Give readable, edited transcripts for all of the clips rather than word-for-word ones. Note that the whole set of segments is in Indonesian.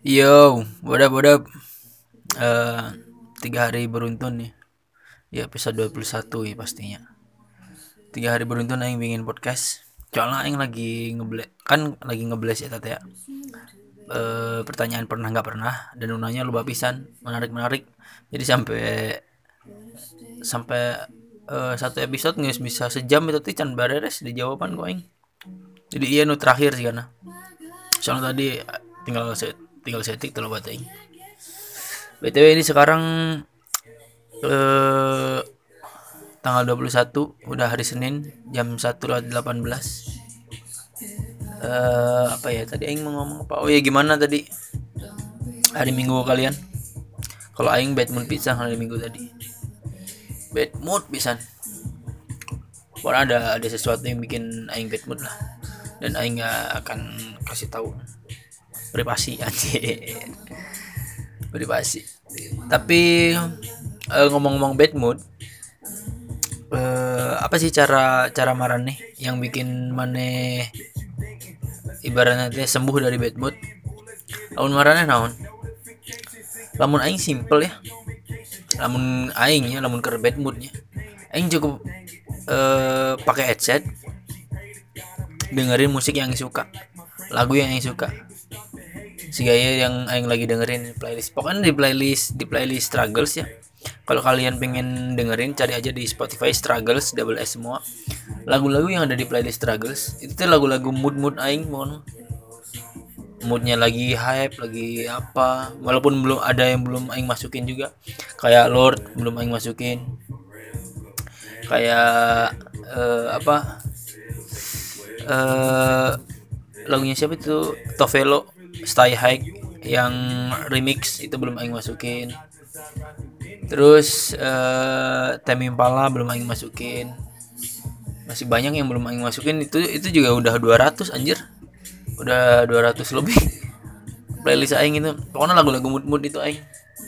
Yo, what up? Eh, 3 hari beruntun nih. Ya episode 21 ya pastinya. 3 hari beruntun aing bikin podcast. Soalnya aing lagi ngebles ya tante ya. Pertanyaan pernah nggak pernah dan nunanya lupa pisan, menarik. Jadi sampai sampai satu episode nggak bisa sejam itu tuh can beres di jawaban gua aing. Jadi iya nu terakhir sih karena. Soalnya tadi tinggal setik terlalu aing. BTW ini sekarang eh tanggal 21 udah hari Senin jam 1:18. Apa ya tadi aing mau ngomong apa? Oh ya gimana tadi hari Minggu kalian? Kalau aing bad mood pisan hari Minggu tadi. Bad mood pisan. Pokoknya ada sesuatu yang bikin aing bad mood lah. Dan aing gak akan kasih tahu. Privasi anjir. Privasi. Tapi ngomong-ngomong bad mood, apa sih cara marane yang bikin maneh ibaratnya sembuh dari bad mood? Lamun marane naon? Lamun aing simple ya. Lamun keur bad moodnya. Aing cukup pakai headset, dengerin musik yang aing suka, lagu yang aing suka. Si gaya yang aing lagi dengerin playlist. Pokoknya di playlist struggles ya. Kalau kalian pengen dengerin cari aja di Spotify struggles double S semua. Lagu-lagu yang ada di playlist struggles itu tuh lagu-lagu mood aing mohon. Moodnya lagi hype, lagi apa. Walaupun belum ada yang belum aing masukin juga. Kayak Lord belum aing masukin. Kayak apa? Lagunya siapa itu? Tovelo Stay High yang remix itu belum aing masukin. Terus Tame Impala belum aing masukin. Masih banyak yang belum aing masukin, itu juga udah 200 anjir. Udah 200 lebih playlist aing itu. Pokoknya lagu-lagu mood itu aing.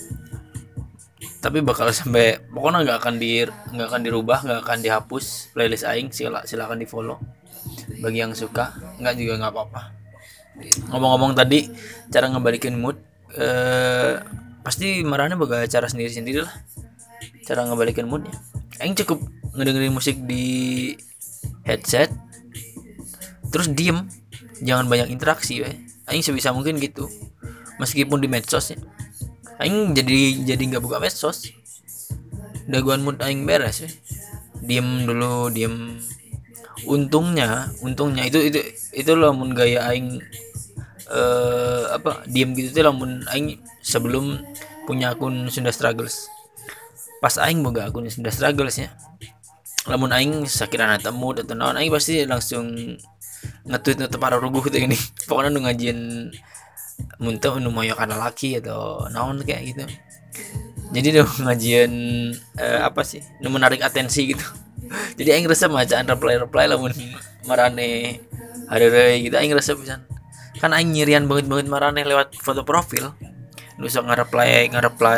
Tapi bakal sampai pokoknya nggak akan dirubah, nggak akan dihapus playlist aing. Silakan di follow bagi yang suka, nggak juga nggak apa-apa. Ngomong-ngomong tadi cara ngebalikin mood, pasti marahnya bakal cara sendiri lah cara ngebalikin moodnya. Aing cukup ngedengerin musik di headset terus diem, jangan banyak interaksi we. Aing sebisa mungkin gitu, meskipun di medsos ya. Aing jadi nggak buka medsos, daguan mood aing beres we. Diem. Untungnya itu lamun gaya aing diem gitu tuh lamun aing sebelum punya akun Sunda Struggles. Pas aing boga akun Sunda Struggles ya, lamun aing sakirana temu atau naon aing pasti langsung nge-tweet para ruguh gitu ini. Pokoknya nu ngajian muntah nu moyokan laki atau naon kayak gitu. Jadi nu ngajian apa sih? Nu menarik atensi gitu. Jadi aing resep bacaan reply lamun marane hareureui gitu aing resep pisan. Kan aing nyirian banget marane lewat foto profil. Nu sok nge-reply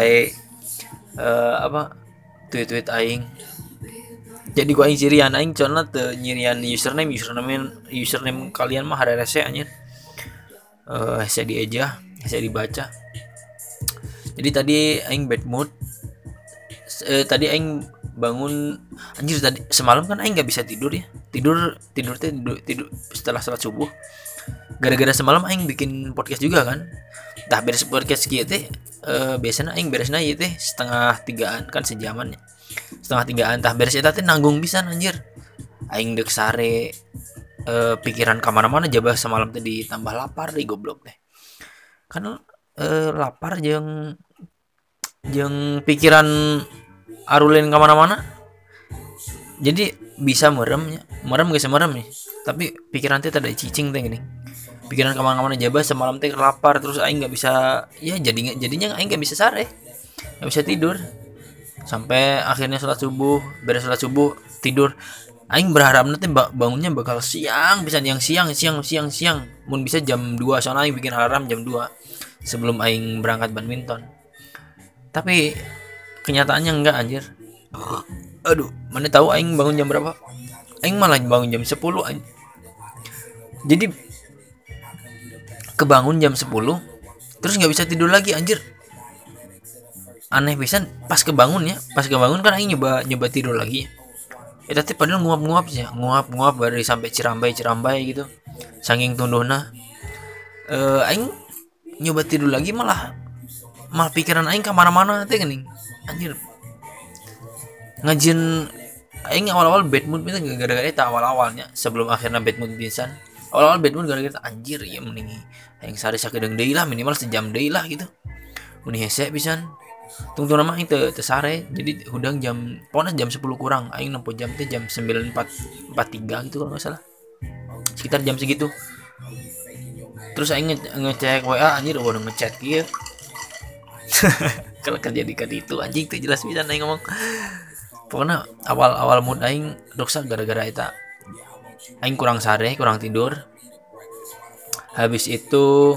tweet aing. Jadi gua aing nyirian aing contohna teu nyirian username kalian mah harerese anjir. Hese dieja, hese dibaca. Jadi tadi aing bad mood. Tadi aing bangun anjir tadi semalam kan aing nggak bisa tidur ya. Tidur setelah salat subuh. Gara-gara semalam aing bikin podcast juga kan. Tah beres podcast kieu teh biasanya aing beresna ieu teh 2:30 kan sejaman ya. 2:30 tah beres eta teh nanggung pisan anjir. Aing deuk sare pikiran ka mana-mana jabah semalam teh ditambah lapar deh goblok teh. Kan lapar jeung pikiran arulen ka mana-mana. Jadi bisa merem geus merem nih. Tapi pikiran teh tada cicing teh gini. Pikiran kemana-mana jabah semalam teh lapar terus aing nggak bisa ya jadinya aing nggak bisa sare, nggak bisa tidur sampai akhirnya beres sholat subuh tidur. Aing berharap nanti bangunnya bakal siang mun bisa jam 2 soalnya aing bikin alarm jam 2 sebelum aing berangkat badminton. Tapi kenyataannya enggak anjir. Aduh, mana tahu aing bangun jam berapa? Aing malah bangun jam 10 anjir. Jadi kebangun jam 10 terus nggak bisa tidur lagi anjir. Aneh pisan, pas kebangun kan aing nyoba tidur lagi. Tapi padahal nguap-nguap sih, nguap dari sampai cirambai gitu. Saking tunduhna. Aing nyoba tidur lagi malah pikiran aing kemana-mana teh geuning. Anjir. Ngajin aing awal-awal bad mood itu gara-gara eta awal-awalnya sebelum akhirnya bad mood pisan. Awal-awal bad mood gara-gara anjir ya mending aing sare sakedeung deui lah, minimal sejam deui lah gitu. Mun hese pisan. Tunggu nama aing teu sare, jadi hudang pokoknya jam 10 kurang, aing nempuh jam teh jam 9.43 gitu kalau enggak salah. Sekitar jam segitu. Terus aing ngecek WA anjir udah ngechat kieu. Kalau kerja di itu anjing tuh jelas pisan aing ngomong. Pokoknya awal mood aing rusak gara-gara eta. Aing kurang sare, kurang tidur. Habis itu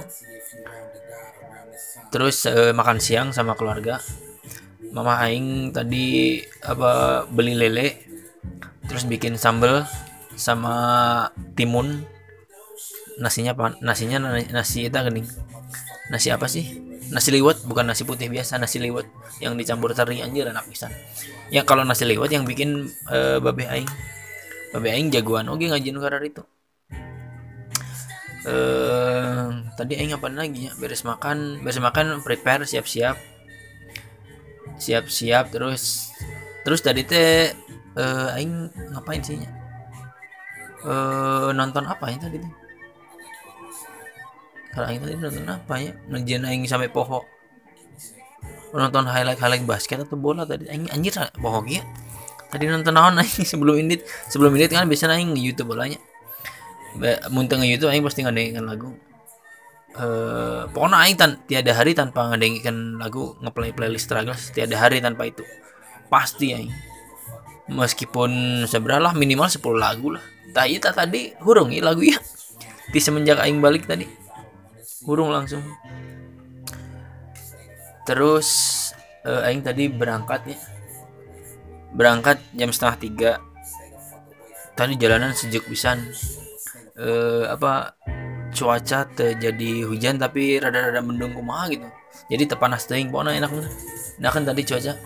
terus makan siang sama keluarga. Mama aing tadi beli lele, terus bikin sambal sama timun. Nasi eta geuning. Nasi apa sih? Nasi liwet, bukan nasi putih biasa, nasi liwet yang dicampur teri anjir enak pisan. Ya kalau nasi liwet yang bikin babe aing. Babe aing jagoan oge ngajin karar itu. Tadi aing apa lagi ya? Beres makan prepare siap-siap terus tadi teh aing ngapain sih nya? Nonton apa ya tadi teh? Kalau aing tadi nonton apa ya? Ngejen aing sampai poho. Nonton highlight basket atau bola tadi aing anjir poho ge. Tadi nonton naon aing sebelum indit kan biasanya aing di YouTube bolanya. Mun teu nge-YouTube aing pasti ngadengkeun lagu. Pokoknya aing tiada hari tanpa ngadengkeun lagu, ngeplay playlist Struggles tiada hari tanpa itu. Pasti aing. Meskipun seberapa minimal 10 lagu lah. Tadi hurung ya lagu ya. Di semenjak aing balik tadi. Hurung langsung. Terus aing tadi berangkat jam 2:30. Tadi jalanan sejuk pisan. Cuaca terjadi hujan tapi rada-rada mendung kumaha gitu. Jadi tepanas teuing pokona enak. Nah kan tadi cuaca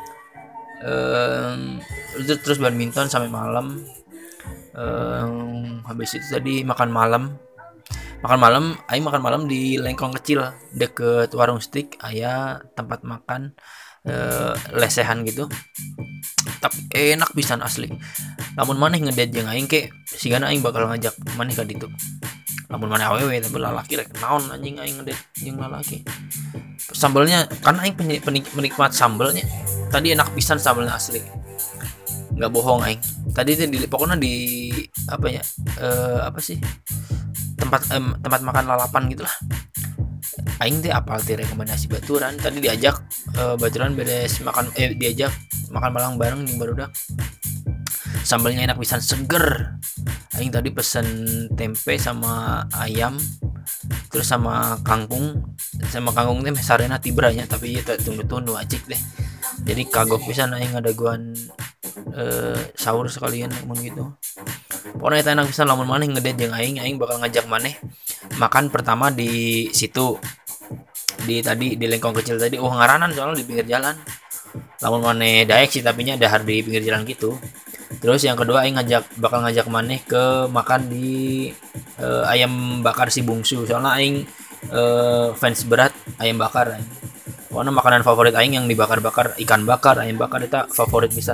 terus badminton sampai malam. Habis itu tadi makan malam aing makan malam di lengkong kecil deket warung steak, aya tempat makan lesehan gitu. Tapi enak pisan asli. Lamun maneh ngedate jeung aing ke sigana aing bakal ngajak maneh ka ditu. Lamun maneh awewe tapi lalaki rek naon anjing aing ngedate jeung lalaki. Sambalnya kan aing penikmat sambalnya. Tadi enak pisan sambalnya asli. Enggak bohong aing. Tadi teh pokoknya di tempat makan lalapan gitulah. Aing teh apal teh rekomendasi baturan. Tadi diajak baturan beres makan diajak makan malam bareng jeung barudak. Sambalnya enak pisan seger. Aing tadi pesen tempe sama ayam terus sama kangkung teh sarena tibranya tapi ieu tunggu acik deh. Jadi kagok pisan aing ngadaguan sahur sekalian mun gitu. Pokoknya eta enak pisan lamun maneh ngedate jeung aing bakal ngajak maneh makan pertama di situ. Di lengkong kecil tadi ngaranan soalnya di pinggir jalan. Lamun maneh daek sih tapi nya dahar di pinggir jalan gitu. Terus yang kedua aing bakal ngajak maneh ke makan di ayam bakar si bungsu. Soalnya aing fans berat ayam bakar aing. Pokoknya makanan favorit aing yang dibakar-bakar, ikan bakar, ayam bakar itu favorit pisan.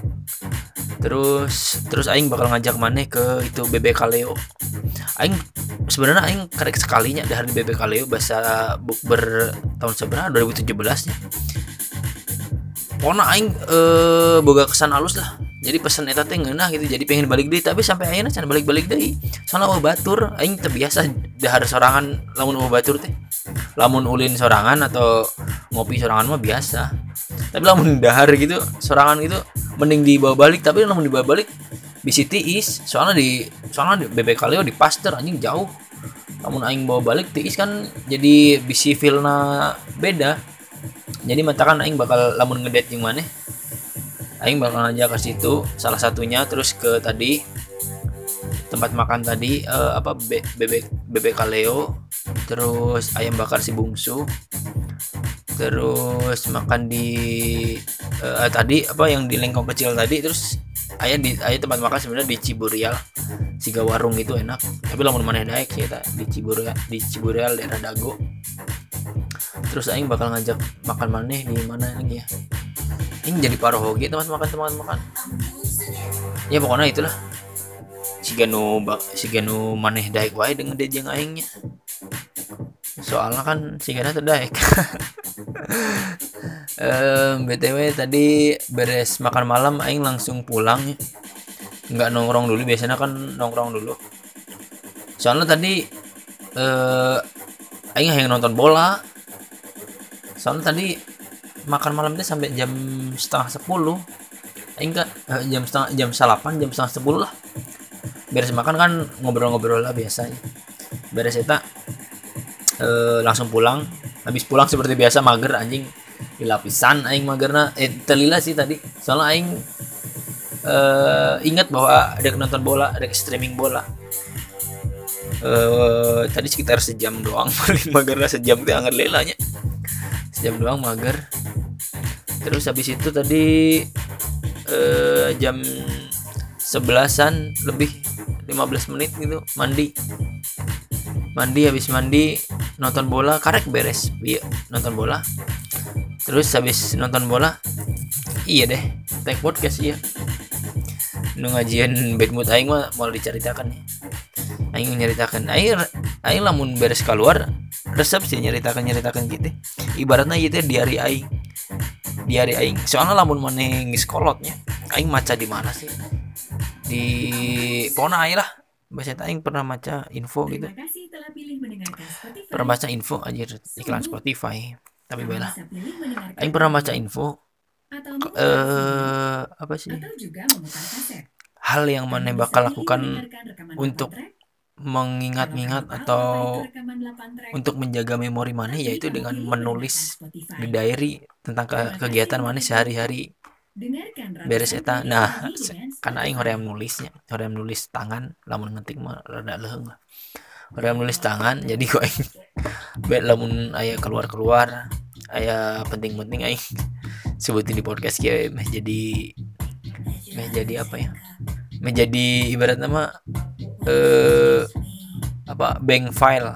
Terus aing bakal ngajak maneh ke itu Bebek Kaleo. Aing sebenarnya aing karek sekalinya dahar di Bebek Kaleo bahasa bukber tahun seberapa 2017 nya. Pokoknya aing boga kesan halus lah. Jadi pesan eta teh ngeunah gitu, jadi pengen balik deui tapi sampai ayeuna can balik-balik deui. Soalnya batur aing teu biasa dahar sorangan lamun batur teh. Lamun ulin sorangan atau ngopi sorangan mah biasa. Tapi lamun dahar gitu sorangan gitu mending dibawa balik, tapi lamun dibawa balik bisi tiis. Soalnya di Bebek Kaleo di Pasteur anjing jauh. Lamun aing bawa balik tiis kan jadi bisi feelna beda. Jadi matakan aing bakal lamun ngedate jeung maneh aing bakal ngajak ke situ salah satunya, terus ke tadi tempat makan tadi Bebek Kaleo terus ayam bakar si bungsu, terus makan di tadi apa yang di lengkong kecil tadi, terus ayah tempat makan sebenarnya di Ciburial, siga warung itu enak, tapi lamun mana daek sih di Ciburial daerah Dago. Terus aing bakal ngajak makan maneh di mana lagi ya, ini jadi parohoge tempat makan ya pokoknya itulah, siganu maneh daek wae dengan dejeng aingnya, soalnya kan sigana terdaek. BTW tadi beres makan malam aing langsung pulang ya. Nggak nongkrong dulu, biasanya kan nongkrong dulu. Soalnya tadi aing yang nonton bola. Soalnya tadi makan malam itu sampai jam setengah 10. Aing kan jam 8, jam setengah 10 lah. Beres makan kan ngobrol-ngobrol lah biasanya. Beres eta langsung pulang. Habis pulang seperti biasa mager anjing, dilapisan aing magerna telila sih tadi, soalnya aing ingat bahwa ada nonton bola, ada streaming bola. Tadi sekitar sejam doang. Paling magerna sejam teh anger lelanya, sejam doang mager. Terus habis itu tadi jam 11-an lebih 15 menit gitu mandi, habis mandi nonton bola, karek beres nonton bola. Terus habis nonton bola iya deh take podcast ya, nu ngajian bad mood aing mah mau diceritakan ya. Aing nyeritakan aing lamun beres keluar resep sih nyeritakan gitu, ibaratnya ieu teh diari aing, soalnya lamun maneh geus kolotnya aing maca di mana sih, di pokona aing lah bahasa aing pernah maca info gitu, pernah baca info aja iklan Spotify, tapi baiklah aing pernah baca info apa sih hal yang maneh bakal lakukan untuk mengingat-ingat atau untuk menjaga memori maneh, yaitu dengan menulis di diary tentang kegiatan maneh sehari-hari beres eta. Nah karena aing hoream nulis tangan, lamun ngetik mah rada leuheung lah, hoream nulis tangan, jadi kok aing lamun aya keluar aya penting-penting aing sebutin di podcast kieu meh jadi apa ya, menjadi ibaratnya mah apa bank file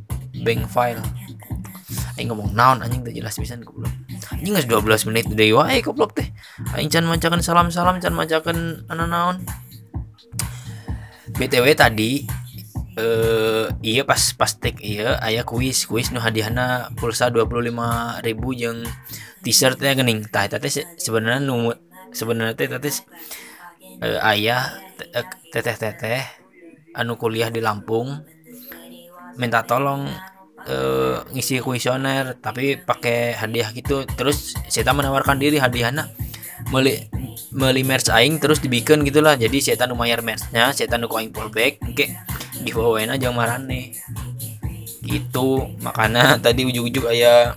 aing ngomong naon anjing teh jelas pisan goblok anjing geus 12 menit deui wae goblok teh aing can macakeun salam can macakeun naon. BTW tadi iya pas tek iya aya kuis nu hadiahna pulsa 25.000 jeung t-shirt nya geuning tah eta teh sebenarnya teh ayah teteh anu kuliah di Lampung minta tolong ngisi kuesioner tapi pakai hadiah gitu, terus saya menawarkan diri hadiahna meuli merch aing terus dibikin gitulah, jadi saya nu mayar merchnya, saya nu aing fallback engke dibawain aja marane gitu. Makanya tadi ujuk-ujuk aya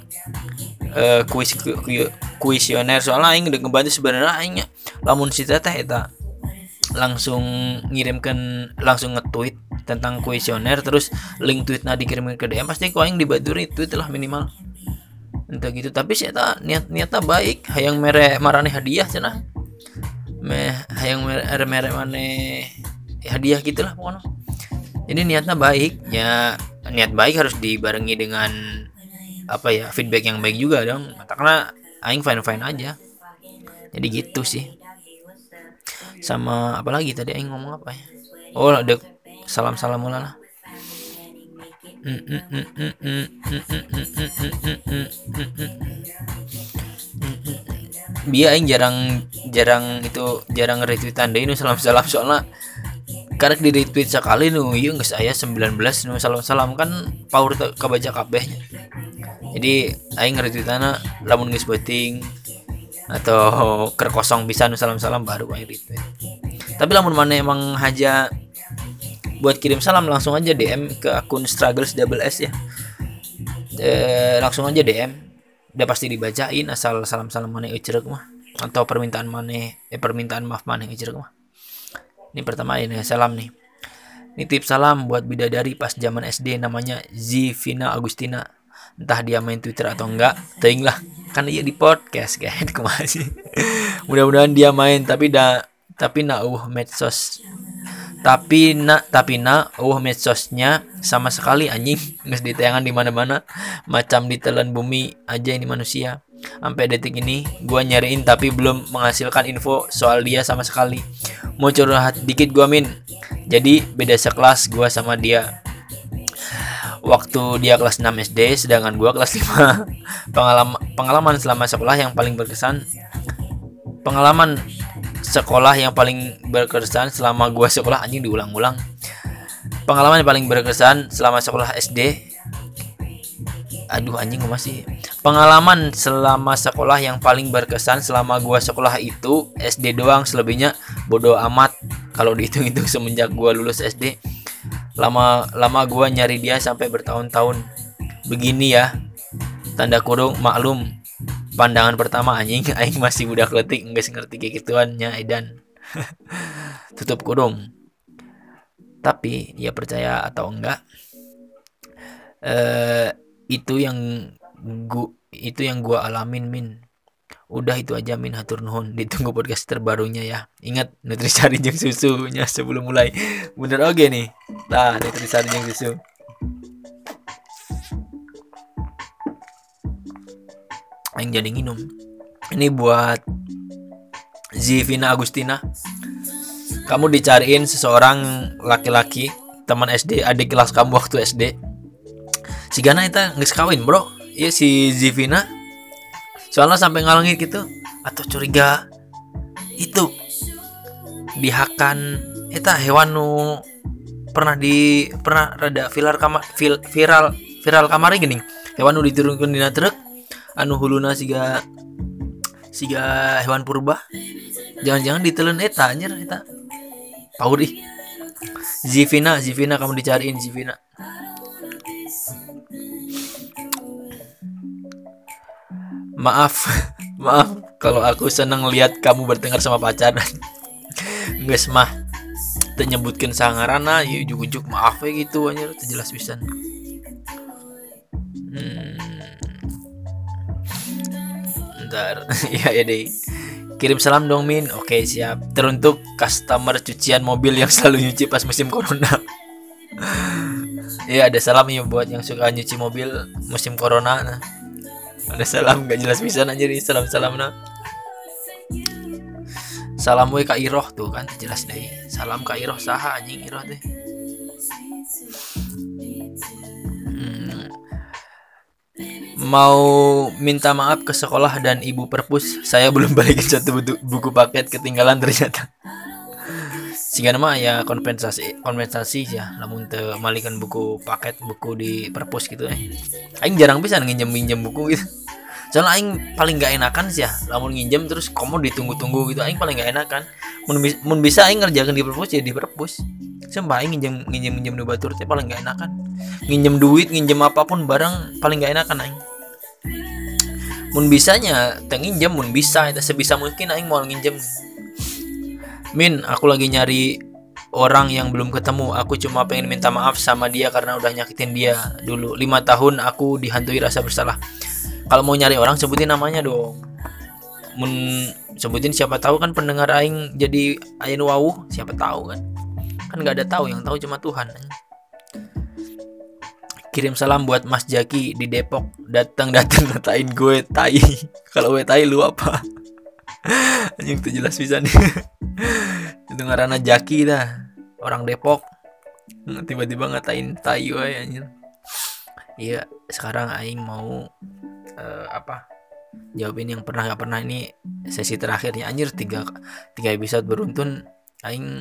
kuesioner, soalnya aing udah ngebantu sebenarnya aingnya lamun si teteh eta langsung langsung nge-tweet tentang kuesioner, terus link tweetnya dikirimkan ke DM, pasti ku aing dibantu retweet lah minimal entah gitu. Tapi saya niatnya baik, hayang mere marane hadiah cenah, hayang mere maneh hadiah gitulah pokoknya. Jadi niatnya baik ya, niat baik harus dibarengi dengan apa ya, feedback yang baik juga dong, karena aing fine aja. Jadi gitu sih. Sama apa lagi tadi aing ngomong apa ya, oh ada salam mula lah. Dia aing jarang retweetan deui nu salam soalnya karek di retweet sekali nu ieu geus aya 19 nu salam kan power kabaca kabehnya. Jadi aing retweetana lamun geus penting atau ker kosong bisa nu salam baru aing retweet. Tapi lamun mana emang haja buat kirim salam langsung aja DM ke akun struggles double S ya, langsung aja DM, udah pasti dibacain asal salam mana euceureuh mah, atau permintaan maaf mana euceureuh mah. Ini pertama ini salam nih, Nitip salam buat bidadari pas zaman SD namanya Zivina Agustina. Entah dia main Twitter atau enggak, teuing lah. Kan dia di podcast kan kumaha sih. Mudah-mudahan dia main tapi medsos. Tapi medsosnya sama sekali anjing. Geus ditayangan di mana-mana. Macam ditelan bumi aja ini manusia. Sampai detik ini gua nyariin tapi belum menghasilkan info soal dia sama sekali. Mau curhat dikit gua Min. Jadi beda sekelas gua sama dia. Waktu dia kelas 6 SD sedangkan gua kelas 5. Pengalaman selama sekolah yang paling berkesan. Pengalaman sekolah yang paling berkesan selama gua sekolah anjing diulang-ulang. Pengalaman yang paling berkesan selama sekolah SD. Aduh anjing gua masih. Pengalaman selama sekolah yang paling berkesan selama gua sekolah itu SD doang, selebihnya bodo amat. Kalau dihitung-hitung semenjak gua lulus SD, lama gua nyari dia sampai bertahun-tahun. Begini ya. Tanda kurung maklum. Pandangan pertama anjing aing masih budak leutik geus ngerti kayak gituannya edan. Tutup kurung. Tapi ya percaya atau enggak, itu yang gua alamin Min. Udah itu aja Min, hatur nuhun. Ditunggu podcast terbarunya ya. Ingat Nutrisari jeung susunya sebelum mulai. Bener oke nih. Nah, Nutrisari jeung susu. Aing jadi nginum. Ini buat Zivina Agustina. Kamu dicariin seseorang laki-laki teman SD, adik kelas kamu waktu SD. Si Gana itu geus kawin, Bro. Iya si Zivina. Soalnya sampai ngalangin gitu atau curiga itu dihakan eta hewan nu pernah rada viral kamari geuning. Hewan nu diturunkeun dina truk anu huluna siga hewan purba. Jangan-jangan ditelen eta anjir eta. Paur ih. Zivina kamu dicariin Zivina. Maaf kalau aku seneng lihat kamu bertengkar sama pacaran. Geus mah teu nyebutkeun sangaranna, ieu ujug-ujug maaf we gitu anjir, teu jelas pisan. Bentar. ya deh. Kirim salam dong Min. Oke, siap. Teruntuk customer cucian mobil yang selalu nyuci pas musim corona. Iya, ada salam ya buat yang suka nyuci mobil musim corona. Nah. Ada salam gak jelas pisan anjir, salam nah. Salam we ka Iroh tuh kan jelas deh. Salam ka Iroh saha anjing Iroh teh. Mau minta maaf ke sekolah dan ibu perpus, saya belum balikin satu buku paket ketinggalan ternyata. Sehingga nama ya kompensasi ya, lamun teu malikeun buku paket buku di perpus gitu Aing jarang bisa nginjem buku gitu. Soalnya aing paling gak enakan sih ya, lamun nginjem terus komo ditunggu-tunggu gitu, aing paling gak enakan. Mun bisa aing ngerjakeun di perpus ya di perpus. Sumpah aing nginjem nu batur teh paling gak enakan. Nginjem duit, nginjem apapun barang paling gak enakan aing. Mun bisanya teu nginjem, mun bisa eta sebisa mungkin aing mau nginjem. Min, aku lagi nyari orang yang belum ketemu. Aku cuma pengen minta maaf sama dia karena udah nyakitin dia dulu. 5 tahun aku dihantui rasa bersalah. Kalau mau nyari orang sebutin namanya dong. Mun sebutin siapa tahu kan pendengar aing jadi ayeuna wawuh, siapa tahu kan. Kan enggak ada tahu, yang tahu cuma Tuhan. Kirim salam buat Mas Jaki di Depok. Datang ngatain gue tai. Kalau gue tai lu apa? Anjing tuh jelas pisan. Itu ngaranna Jaki dah. Orang Depok. Tiba-tiba ngatain tai we anjir. Iya, sekarang aing mau jawabin yang pernah enggak pernah. Ini sesi terakhirnya anjir, 3 episode beruntun aing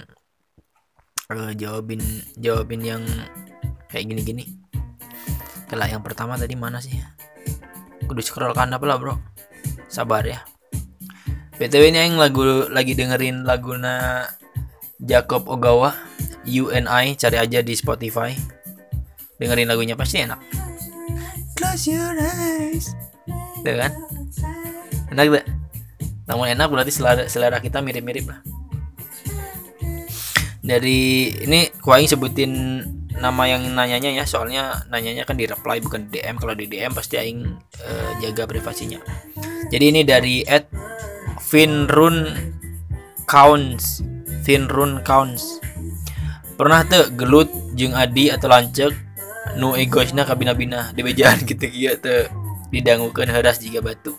jawabin yang kayak gini-gini. Kalau yang pertama tadi mana sih? Kudu scroll kan apa lah bro. Sabar ya. BTW ini yang lagi dengerin laguna Jacob Ogawa, You and I, cari aja di Spotify. Dengerin lagunya pasti enak. Close your eyes. Tuh kan? Enak gak? Namun enak berarti selera kita mirip-mirip lah. Dari ini ku aing sebutin nama yang nanyanya ya, soalnya nanyanya kan di reply bukan di DM. Kalau di DM pasti aing jaga privasinya. Jadi ini dari @Finrun Counts. Finrun Counts. Pernah teu gelut jeung Adi atau lancek nu egoisna ka bina-bina di bejaan kitu kieu teu didangukeun heuras jiga batu.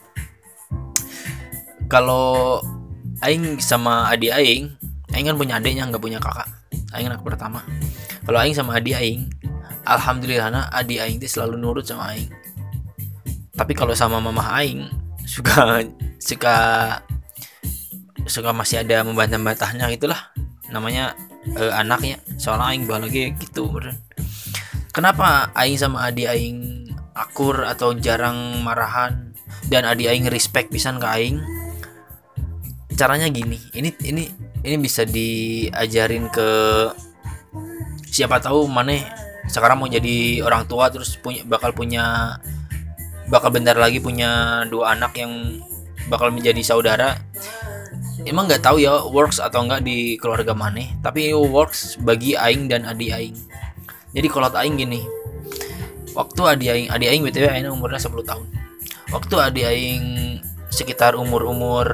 Kalau aing sama Adi aing kan punya adiknya, nggak punya kakak. Aing anak pertama. Kalau aing sama Adi aing, alhamdulillahna Adi aing teh selalu nurut sama aing. Tapi kalau sama mama aing suka masih ada membantah-bantahnya gitulah. Namanya anaknya. Soalnya aing lagi gitu beren. Kenapa aing sama Adi aing akur atau jarang marahan dan Adi aing respect pisan ke aing? Caranya gini. Ini bisa diajarin ke siapa tahu maneh sekarang mau jadi orang tua terus bakal bentar lagi punya 2 anak yang bakal menjadi saudara. Emang nggak tahu ya works atau enggak di keluarga maneh, tapi works bagi aing dan adik aing. Jadi kalau aing gini, waktu adik aing BTW aing umurnya 10 tahun. Waktu adik aing sekitar umur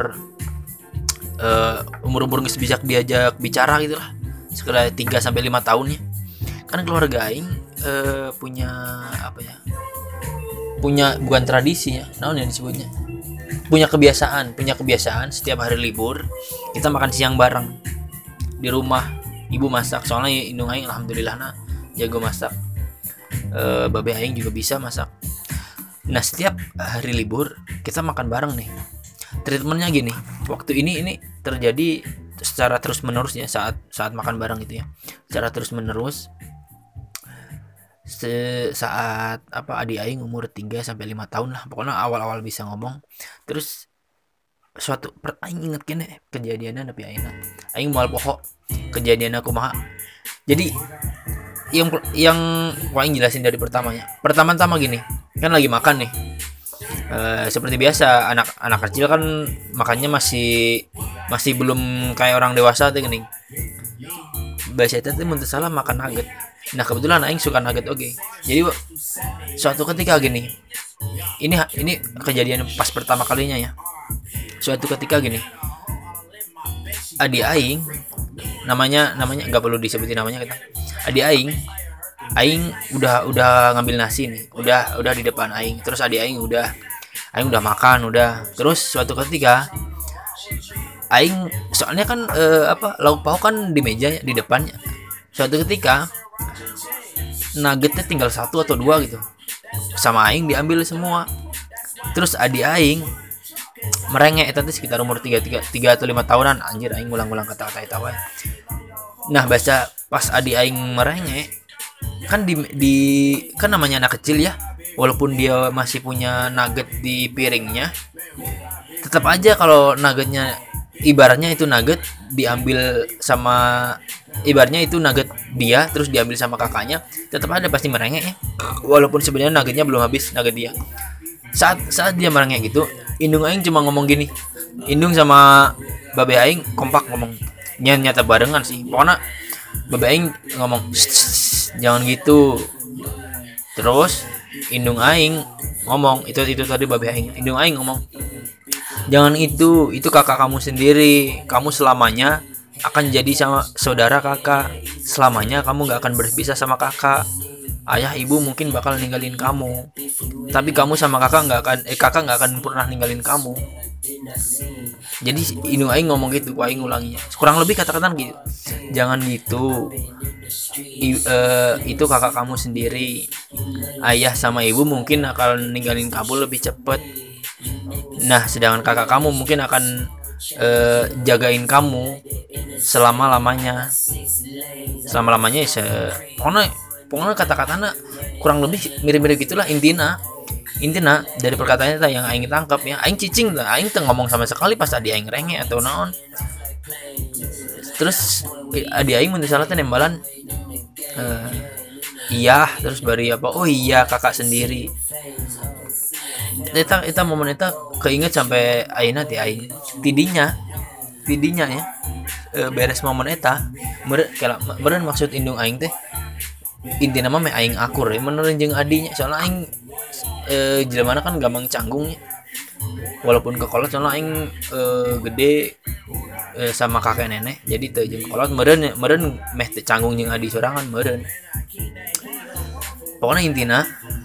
geus bisa diajak bicara gitu lah, sekitar 3 sampai 5 tahun ya. Kan keluarga aing punya apa ya? Punya bukan tradisi ya, naon yang disebutnya? Punya kebiasaan setiap hari libur kita makan siang bareng di rumah. Ibu masak, soalnya indung aing alhamdulillah jago masak. Babe aing juga bisa masak. Nah, setiap hari libur kita makan bareng nih. Treatmentnya gini, waktu ini terjadi secara terus menerus ya, saat makan bareng gitu ya, secara terus menerus. Saat adik aing umur 3 sampai 5 tahun lah, pokoknya awal-awal bisa ngomong. Terus suatu aing inget kene kejadiannya tapi aing moal poho kejadiannya kumaha. Jadi yang aing jelasin dari pertama-tama gini, kan lagi makan nih. Seperti biasa anak kecil kan makannya masih belum kayak orang dewasa tuh gini. Bahasa itu mun teu salah makan nugget. Nah, kebetulan aing suka nugget oke. Jadi suatu ketika gini. Ini kejadian pas pertama kalinya ya. Suatu ketika gini. Adik aing namanya enggak perlu disebutin namanya kita. Adik aing udah ngambil nasi nih. Udah di depan aing. Terus adik aing udah makan udah. Terus suatu ketika aing soalnya kan lauk pauk kan di meja di depannya. Suatu ketika nuggetnya tinggal 1 atau 2 gitu. Sama aing diambil semua. Terus adik aing merengek itu sekitar umur 3 atau 5 tahunan. Anjir aing ngulang-ngulang kata-kata eta wae. Nah, bahasa pas adik aing merengek kan di kan namanya anak kecil ya. Walaupun dia masih punya nugget di piringnya, tetap aja kalau nuggetnya ibaratnya itu nugget diambil sama ibaratnya itu nugget dia terus diambil sama kakaknya, tetap ada pasti merengek ya. Walaupun sebenarnya nuggetnya belum habis nugget dia. Saat dia merengek gitu, indung aing cuma ngomong gini. Indung sama babe aing kompak ngomong. Nyata barengan sih. Pokoknya babe aing ngomong, jangan gitu. Terus indung aing ngomong itu tadi babe aing. Indung aing ngomong, jangan itu kakak kamu sendiri. Kamu selamanya akan jadi sama saudara kakak. Selamanya kamu gak akan berpisah sama kakak. Ayah ibu mungkin bakal ninggalin kamu, tapi kamu sama kakak gak akan pernah ninggalin kamu. Jadi indung aing ngomong gitu, aing ngulanginya. Kurang lebih kata-kata gitu. Jangan gitu. Itu kakak kamu sendiri. Ayah sama ibu mungkin akan ninggalin kamu lebih cepat. Nah, sedangkan kakak kamu mungkin akan jagain kamu selama-lamanya ya. Pokoknya kata-katanya kurang lebih mirip-mirip gitulah intina dari perkataannya yang aing tangkap ya. Aing cicing lah, aing teu ngomong sama sekali pas adi aing renge atau naon. Terus adi aing mun salah teh nembalan iya, terus bari apa? Oh iya, kakak sendiri. Eta momen eta keinget sampai ayeuna teh aing tidinya tidinya ya beres momen eta meureun maksud indung aing teh inti nama meh aing akur ya menurut jeung adinya soalnya aing jelema kan gampang canggungnya walaupun kekolot soalnya aing gede sama kakek nenek jadi teu jeung kolot meureun meh teu canggung jeung adi sorangan meureun pokoknya intina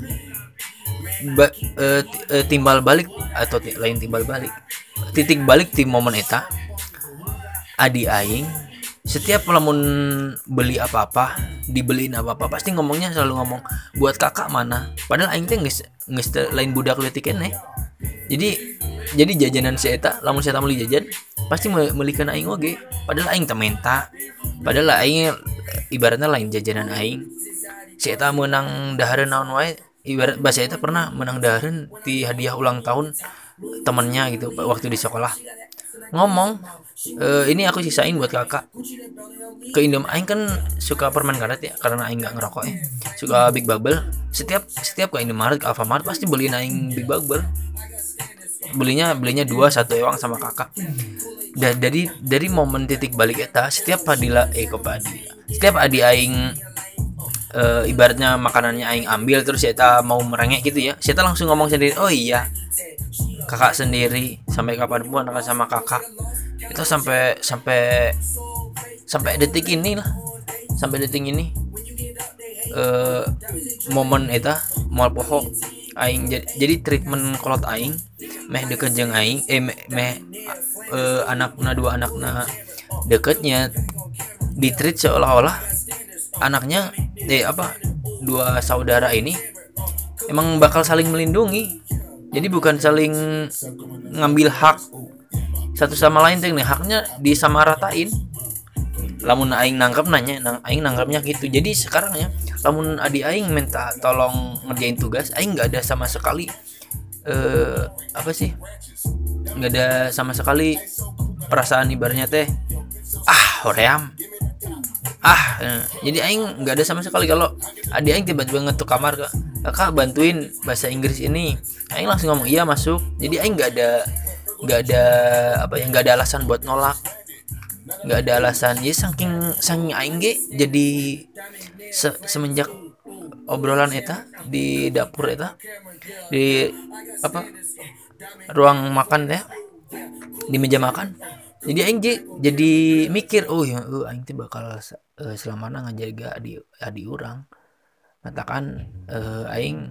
timbal balik atau lain timbal balik titik balik di momen eta adi aing setiap lamun beli apa-apa dibeliin apa-apa pasti ngomongnya selalu ngomong buat kakak mana padahal aing teh geus lain budak leutik keneh jadi jajanan si eta lamun si eta meuli jajan pasti meulikeun aing oge padahal aing teh menta padahal aing ibaratnya lain jajanan aing si eta menang dahareun naon wae ibarat bahasa eta pernah menang dahareun di hadiah ulang tahun temannya gitu waktu di sekolah ngomong ini aku sisain buat kakak ke Indom aing kan suka permen karet ya karena aing nggak ngerokok ya suka Big Bubble setiap ke Indomaret ke Alfamart pasti beliin aing Big Bubble belinya 2 1 ewang sama kakak dari momen titik balik eta setiap setiap adi aing ibaratnya makanannya aing ambil terus eta mau merengek gitu ya eta langsung ngomong sendiri oh iya kakak sendiri sampai kapanpun akan sama kakak itu sampai detik ini lah sampai detik ini momen eta moal poho aing jadi treatment kolot aing meh deket jeung aing anakna dua anakna deketnya di treat seolah-olah anaknya dua saudara ini emang bakal saling melindungi jadi bukan saling ngambil hak satu sama lain teh haknya disamaratain lamun aing nangkapnya gitu jadi sekarang ya lamun adi aing minta tolong ngerjain tugas aing nggak ada sama sekali nggak ada sama sekali perasaan ibaratnya teh hoream jadi aing nggak ada sama sekali kalau adi aing tiba-tiba ngetuk kamar kakak bantuin bahasa Inggris ini aing langsung ngomong iya masuk jadi aing nggak ada alasan buat nolak nggak ada alasan ya saking aing ge jadi semenjak obrolan eta di dapur eta di ruang makan ya di meja makan jadi aing jadi mikir aing teh bakal selamana ngajaga adi urang katakan aing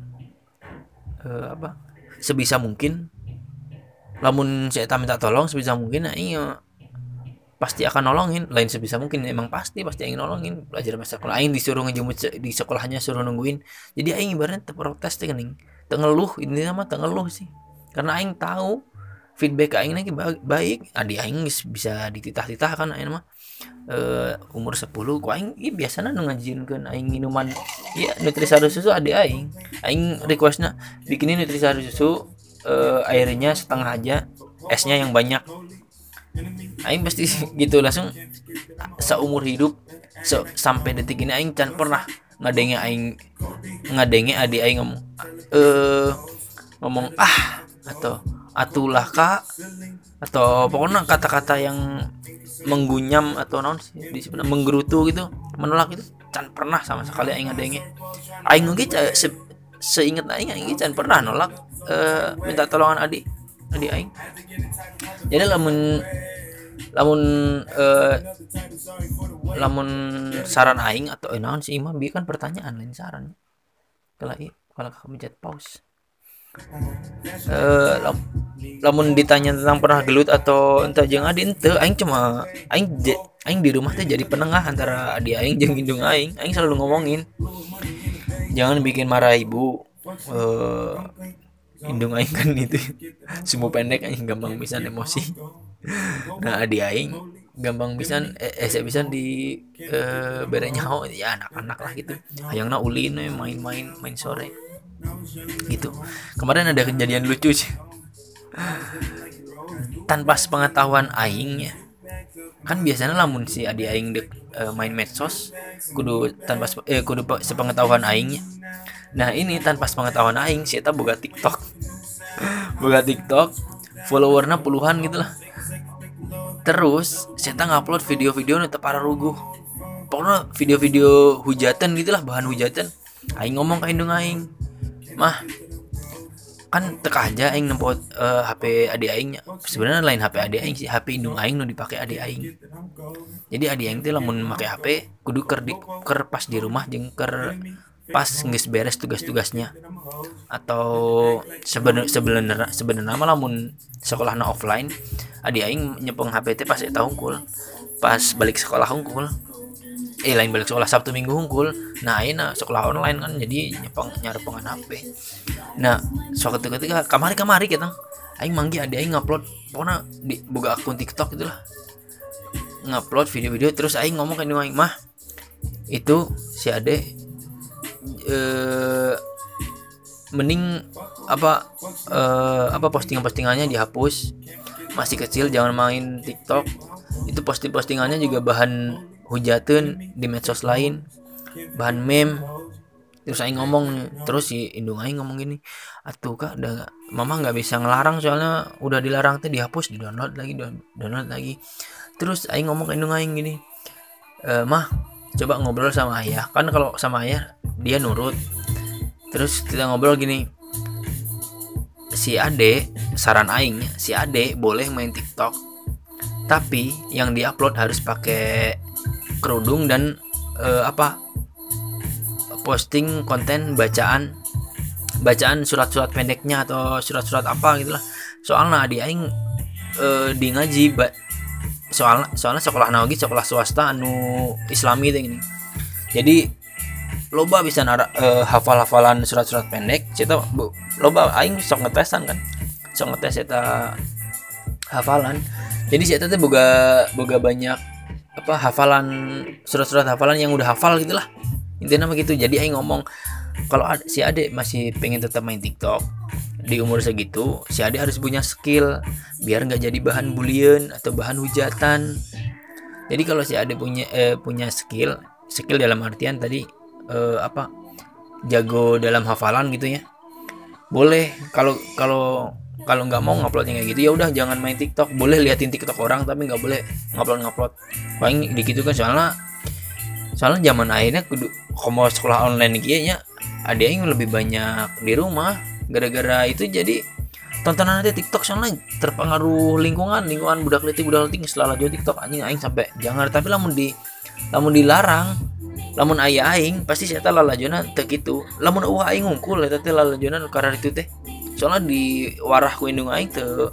sebisa mungkin lamun saya minta tolong sebisa mungkin aing pasti akan nolongin lain sebisa mungkin emang pasti aing nolongin belajar masa sekolah aing disuruh ngejemput di sekolahnya suruh nungguin jadi aing ibaratnya terprotes teh geuning teu ngeluh intinya mah teu ngeluh sih karena aing tahu feedback aing lagi baik adi aing bisa dititah-titah kan aing mah umur 10 ku aing biasana nu ngajinkeun aing minuman ya nutrisari susu adi aing requestna bikinin nutrisari susu airnya setengah aja esnya yang banyak aing pasti gitu langsung seumur hidup sampai detik ini aing can pernah ngadenge adi aing ngomong atau atulah kak atau pokoknya kata-kata yang menggunyam atau naon sih disebutna menggerutu gitu menolak itu can pernah sama sekali aing ngadenge aing ge seinget aing can pernah nolak minta tolongan adik aing jadi lamun saran aing atau naon sih mah bi kan pertanyaan lain saran kalau kamu chat pause lamun ditanya tentang pernah gelut atau entah jeung adi ente aing cuma aing di rumah teh jadi penengah antara adi aing jeung indung aing selalu ngomongin jangan bikin marah ibu indung aing kan itu sumbu pendek aing gampang pisan emosi nah adi aing gampang pisan bisa di bere nyaho ya anak-anak lah gitu hayangna ulin main sore gitu kemarin ada kejadian lucu sih tanpa sepengetahuan aing ya kan biasanya lamun si adi aing main medsos kudu sepengetahuan aingnya nah ini tanpa sepengetahuan aing si eta boga TikTok followernya puluhan gitu lah Terus saya ngupload video-video nu teu pararuguh. Pokoknya video-video hujatan gitulah, bahan hujatan. Aing ngomong ke indung aing, "Mah, kan teka aja aing nempot HP adik aingnya." Sebenarnya lain HP adik aing sih, HP indung aing nu dipake adik aing. Jadi adik aing teh lamun make HP kudu ker pas di rumah jeung ker pas geus beres tugas-tugasnya. Atau sebenarnya mah lamun sekolahna offline, adik aing nyepeng HP teh pas eta hungkul. Pas balik sekolah hungkul. Lain balik sekolah Sabtu Minggu hungkul. Nah ayeuna sekolah online kan jadi nyarepengan HP. Nah suatu ketika kamari kita aing manggih adik aing ngupload pokona di boga akun TikTok itulah, ngupload video-video. Terus aing ngomong ke aing, "Mah, itu si ade mending apa postingannya dihapus, masih kecil jangan main TikTok, itu postingannya juga bahan hujatan di medsos lain, bahan meme." Terus aing ngomong, terus si indung aing ngomong gini, "Atuh Kak, mama nggak bisa ngelarang, soalnya udah dilarang teh dihapus, download lagi." Terus aing ngomong ke indung aing gini, "Mah, coba ngobrol sama ayah." Kan kalau sama ayah dia nurut. Terus kita ngobrol gini, si ade, saran aing, si ade boleh main TikTok, tapi yang diupload harus pakai kerudung dan posting konten bacaan surat-surat pendeknya atau surat-surat apa gitulah. Soalnya adik aing di ngaji soalnya sekolah naogi sekolah swasta anu islami teh gini. Jadi loba bisa hafal-hafalan surat-surat pendek. Cita loba aing sok ngetesan kan. Sok ngetes eta hafalan. Jadi saya teh boga banyak hafalan surat-surat hafalan yang udah hafal gitulah. Intinya mah gitu. Jadi aing ngomong kalau si Ade masih pengen tetap main TikTok di umur segitu, si Ade harus punya skill biar nggak jadi bahan bulian atau bahan hujatan. Jadi kalau si Ade punya skill dalam artian tadi jago dalam hafalan gitu ya, boleh. Kalau nggak mau nguploadnya kayak gitu, ya udah jangan main TikTok. Boleh liatin TikTok orang tapi nggak boleh ngupload. Paling dikit kan soalnya zaman akhirnya kudu komo sekolah online kayaknya ada yang lebih banyak di rumah. Gara-gara itu jadi tontonan nanti TikTok, soalnya terpengaruh lingkungan budak letik selalu jual TikTok anjing sampai jangan. Tapi lamun dilarang, lamun ayah aing pasti saya lalajona teh gitu. Lamun eueuh aing ngungkul eta teh lalajona karena itu teh. Soalnya di warah ku indung aing teu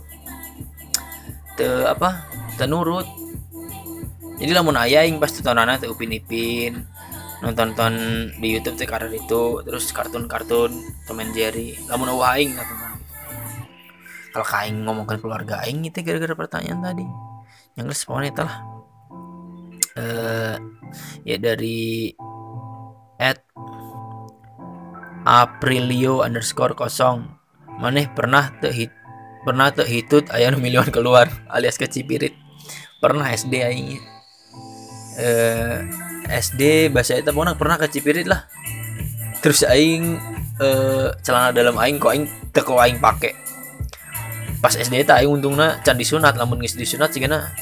nurut. Jadi lamun ayah aing pasti tontonana teh upin-ipin, nonton di YouTube teh karena itu, terus kartun-kartun Tom and Jerry. Lamun eueuh aing nonton. Kalau aing ngomongkan keluarga aing itu gara-gara pertanyaan tadi. Yang geus pokoknya itulah. Ya dari @aprilio_0 maneh pernah teu hitut aya nu milion keluar alias kecipirit. Pernah SD aing. SD bahasa eta pernah kecipirit lah. Terus aing celana dalam aing kok aing teu aing pake. Pas SD eta aing untungna can disunat, lamun geus disunat sigana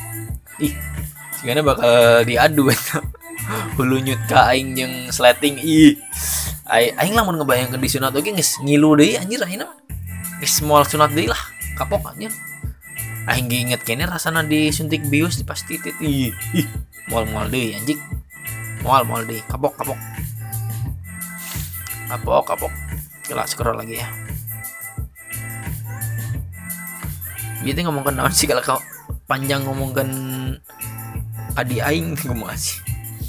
bakal diadu eta. Hulu nyut ka aing jeung sleting aing lamun ngebayangkeun disunat oge geus ngilu deui anjir ayeuna. Geus moal sunat deui lah, kapok anjir. Aing inget kene rasana disuntik bius di pas titit. Moal deui anjing. Moal deui, kapok. Coba scroll lagi ya. Gitu ngomongkan naon sih kalau kau panjang ngomongkan adi aing ngomong sih.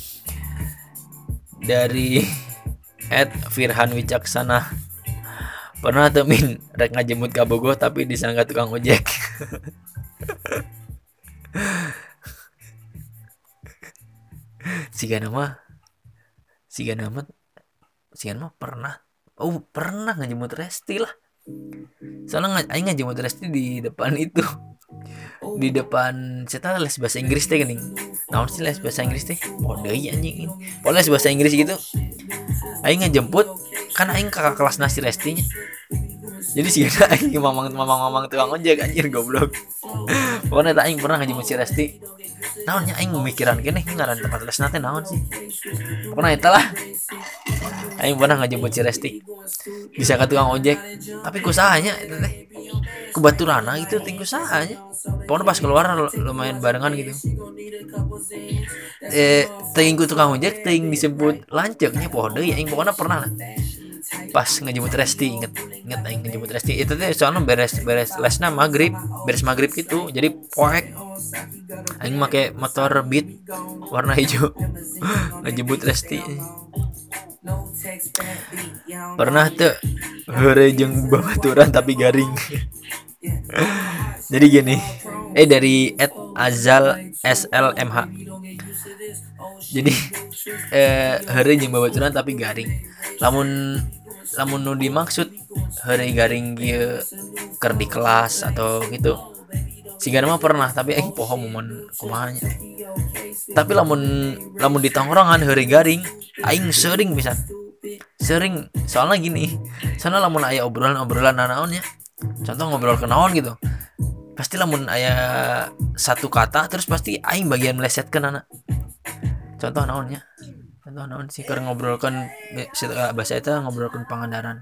Dari @firhan wicaksana, pernah temin rek ngajemut ka Bogor tapi disangka tukang ojek. Siga nama pernah ngajemut Resti lah. Soalnya aing ngajemut Resti di depan itu. Di depan saya les bahasa Inggris teh geuning. Naon sih les bahasa Inggris teh? Deui anjing. Les bahasa Inggris gitu. Aing ngajemput kan aing kakak kelas nasi Restinya. Jadi sih aing mamang tukang ojek anjir goblok. Pokoknya tak aing pernah ngajemput si Resti. Naonnya aing mikiran kene ngaran tempat les nate naon sih. Pokoknya eta lah. Aing pernah ngajemput si Resti. Bisa ke tukang ojek, tapi kusahanya itu teh. Kebaturana gitu tinggu sahanya. Pokoknya pas keluar lumayan barengan gitu. Teuing ku tukang ojek teuing disebut lanceuknya poho deui aing pokoknya pernah lah. Pas ngejemput Resti inget aing ngejemput Resti itu teh soalnya beres lesna beres maghrib gitu jadi poek aing make motor Beat warna hijau ngejemput Resti pernah tuh heureuy jeung babaturan tapi garing. Jadi gini dari @azal slmh jadi heureuy jeung babaturan tapi garing lamun nu dimaksud heureuy garing ieu keur di kelas atau gitu sigana mah pernah tapi aing poho momen kumahanya tapi lamun di tongkrongan heureuy garing aing sering soalnya gini soalnya lamun aya obrolan naonnya contoh ngobrol kenaon gitu pasti lamun aya satu kata terus pasti aing bagian melesetkeun anak contoh naon sih keur ngobrolkeun bahasa eta ngobrolkeun pangandaran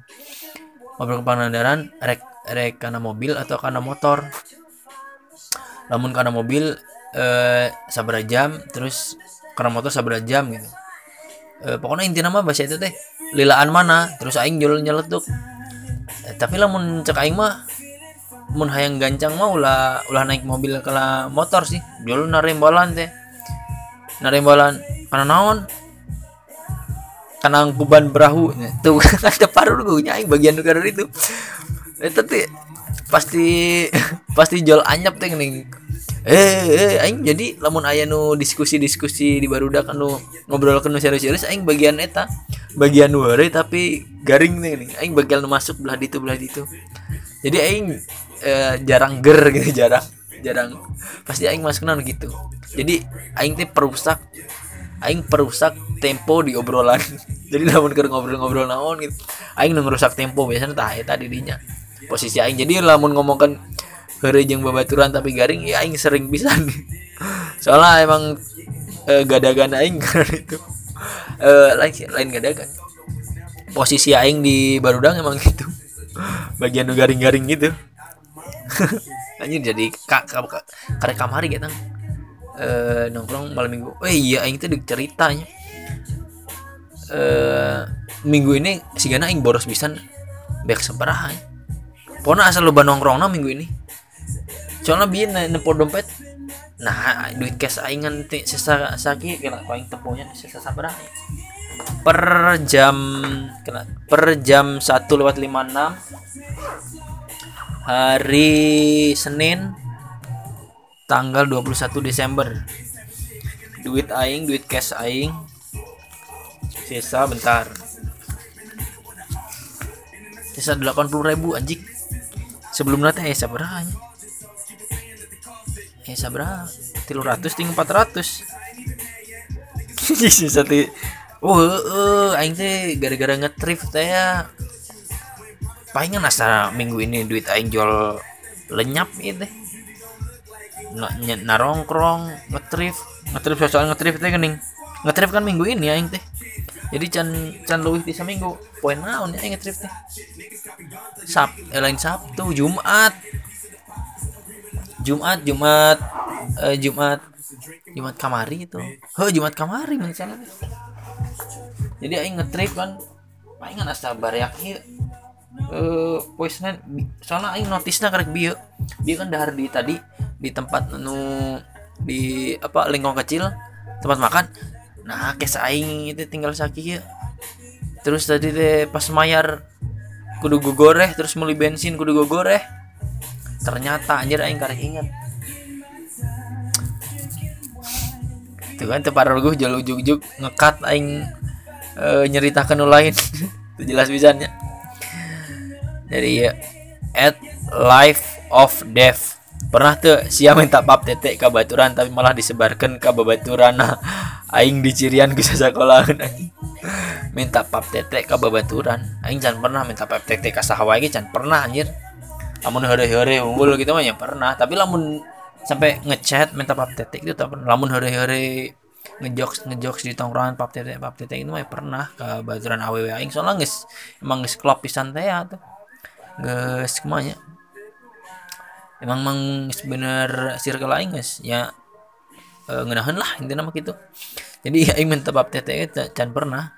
rek kana mobil atau kana motor lamun kana mobil sabaraha jam terus kana motor sabaraha jam gitu pokoknya intina mah bahasa itu teh lilaan mana terus aing nyeletuk tapi lamun cek aing mah mun hayang gancang mah ulah naik mobil kala motor sih jol narembalan kana naon kana kuban berahu tuh ada paru gue aing bagian nuker itu teh pasti jol anyep teh geuning aing jadi lamun aya nu diskusi di barudak anu ngobrolkeun nu serius aing bagian eta bagian nu heureuy tapi garing teh geuning aing bagian nu masuk belah ditu jadi aing jarang gitu jarang pasti aing masukna gitu jadi aing teh perusak tempo di obrolan. Jadi lamun keur ngobrol naon gitu aing nu ngerusak tempo biasanya tah eta di dinya posisi aing jadi lamun ngomongkeun heureuy jeung babaturan tapi garing ya aing sering pisan. Soalnya emang gadagan aing karena itu lain gadagan. Posisi aing di barudang emang gitu. Bagian nu garing-garing gitu. Anjir jadi karek kamari gitu. Nongkrong malam minggu. Iya aing teh ceritanya. Minggu ini sigana aing boros pisan beak sabaraha. Pokona asal loba nongkrongna minggu ini. Soalnya bieu nempo dompet. Nah, duit cash aing teh sesaki kena aing temponya sabaraha. Per jam 1:56 hari Senin tanggal 21 Desember. Duit cash aing sisa bentar. Sisa 80.000 anjing. Sebelumnya teh sabaraha nya? Sabaraha? 300 ting 400. Sisa teh. Aing teh gara-gara ngetrip teh ya. Palingan asa minggu ini duit aing jual lenyap ieu teh. Narongkrong ngetrip soal ngetrip teh geuning. Ngetrip kan minggu ini aing teh. Jadi can leuwih ti saminggu. Poe naon ya aing ngetrip teh? Lain Sabtu, Jumat kamari itu. Jumat kamari misalnya. Jadi aing ngetrip kan palingan asa bareak ieu. Poe Senin soalnya aing notisna karek bieu kan dahar di tadi di tempat di lingkong kecil tempat makan. Nah kes aing itu tinggal sakieu. Terus tadi teh pas mayar kudu gogoreh terus meuli bensin kudu gogoreh. Ternyata anjir aing karek inget. Tuh kan teu pararuguh jol ujug-ujug ngekat aing nyeritakeun nu lain. Itu jelas pisannya. Dari @life of death pernah tuh sia minta pap tete ka baturan tapi malah disebarkan ka babaturana aing dicirian ku sasekolahan anjing. Minta pap tete ka babaturan aing can pernah minta pap tete ka saha wae can pernah anjir. lamun heure-heure unggul gitu mah ya pernah, tapi lamun sampai ngechat minta pap tete itu tak pernah. Lamun heure-heure ngejokes di tongkrongan pap tete itu mah ya pernah ke baturan awewe aing soalnya emang geus klop pisan teh ya tuh geus kumanya emang bener circle aing geus ya ngeunaheun lah intina mah gitu. Jadi aing minta pap tete can pernah.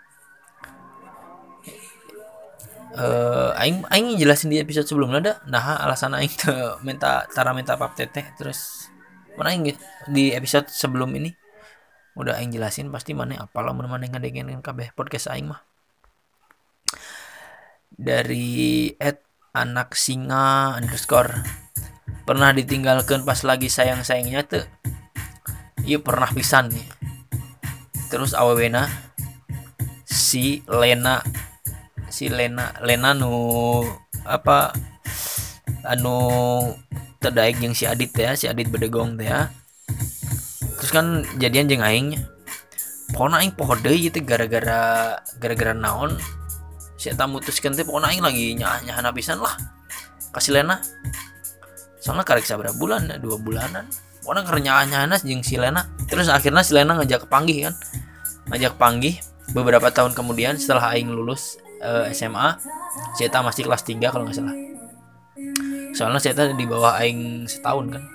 Aing jelasin di episode sebelumnya ada nah alasan aing minta pap teteh terus mana aing di episode sebelum ini udah aing jelasin pasti mana apalah mun mana ngadengerin kabeh podcast aing mah. Dari @anak singa _ pernah ditinggalkan pas lagi sayang-sayangnya tuh iya pernah pisan nih. Terus awewena si Lena nu apa anu terdaik yang si Adit bedegong teh ya. Terus kan jadian jeung aing pokona aing poho deui gitu gara-gara naon si eta mutuskeun teh pokona aing lagi nyah-nyahana pisan lah kasih Lena soalnya karek sabaraha bulan 2 bulanan pokona keur nyah-nyahana jeung si Lena. Terus akhirnya si Lena ngajak panggih beberapa tahun kemudian setelah aing lulus SMA. Saya masih kelas 3 kalau nggak salah. Soalnya saya di bawah aing setahun kan.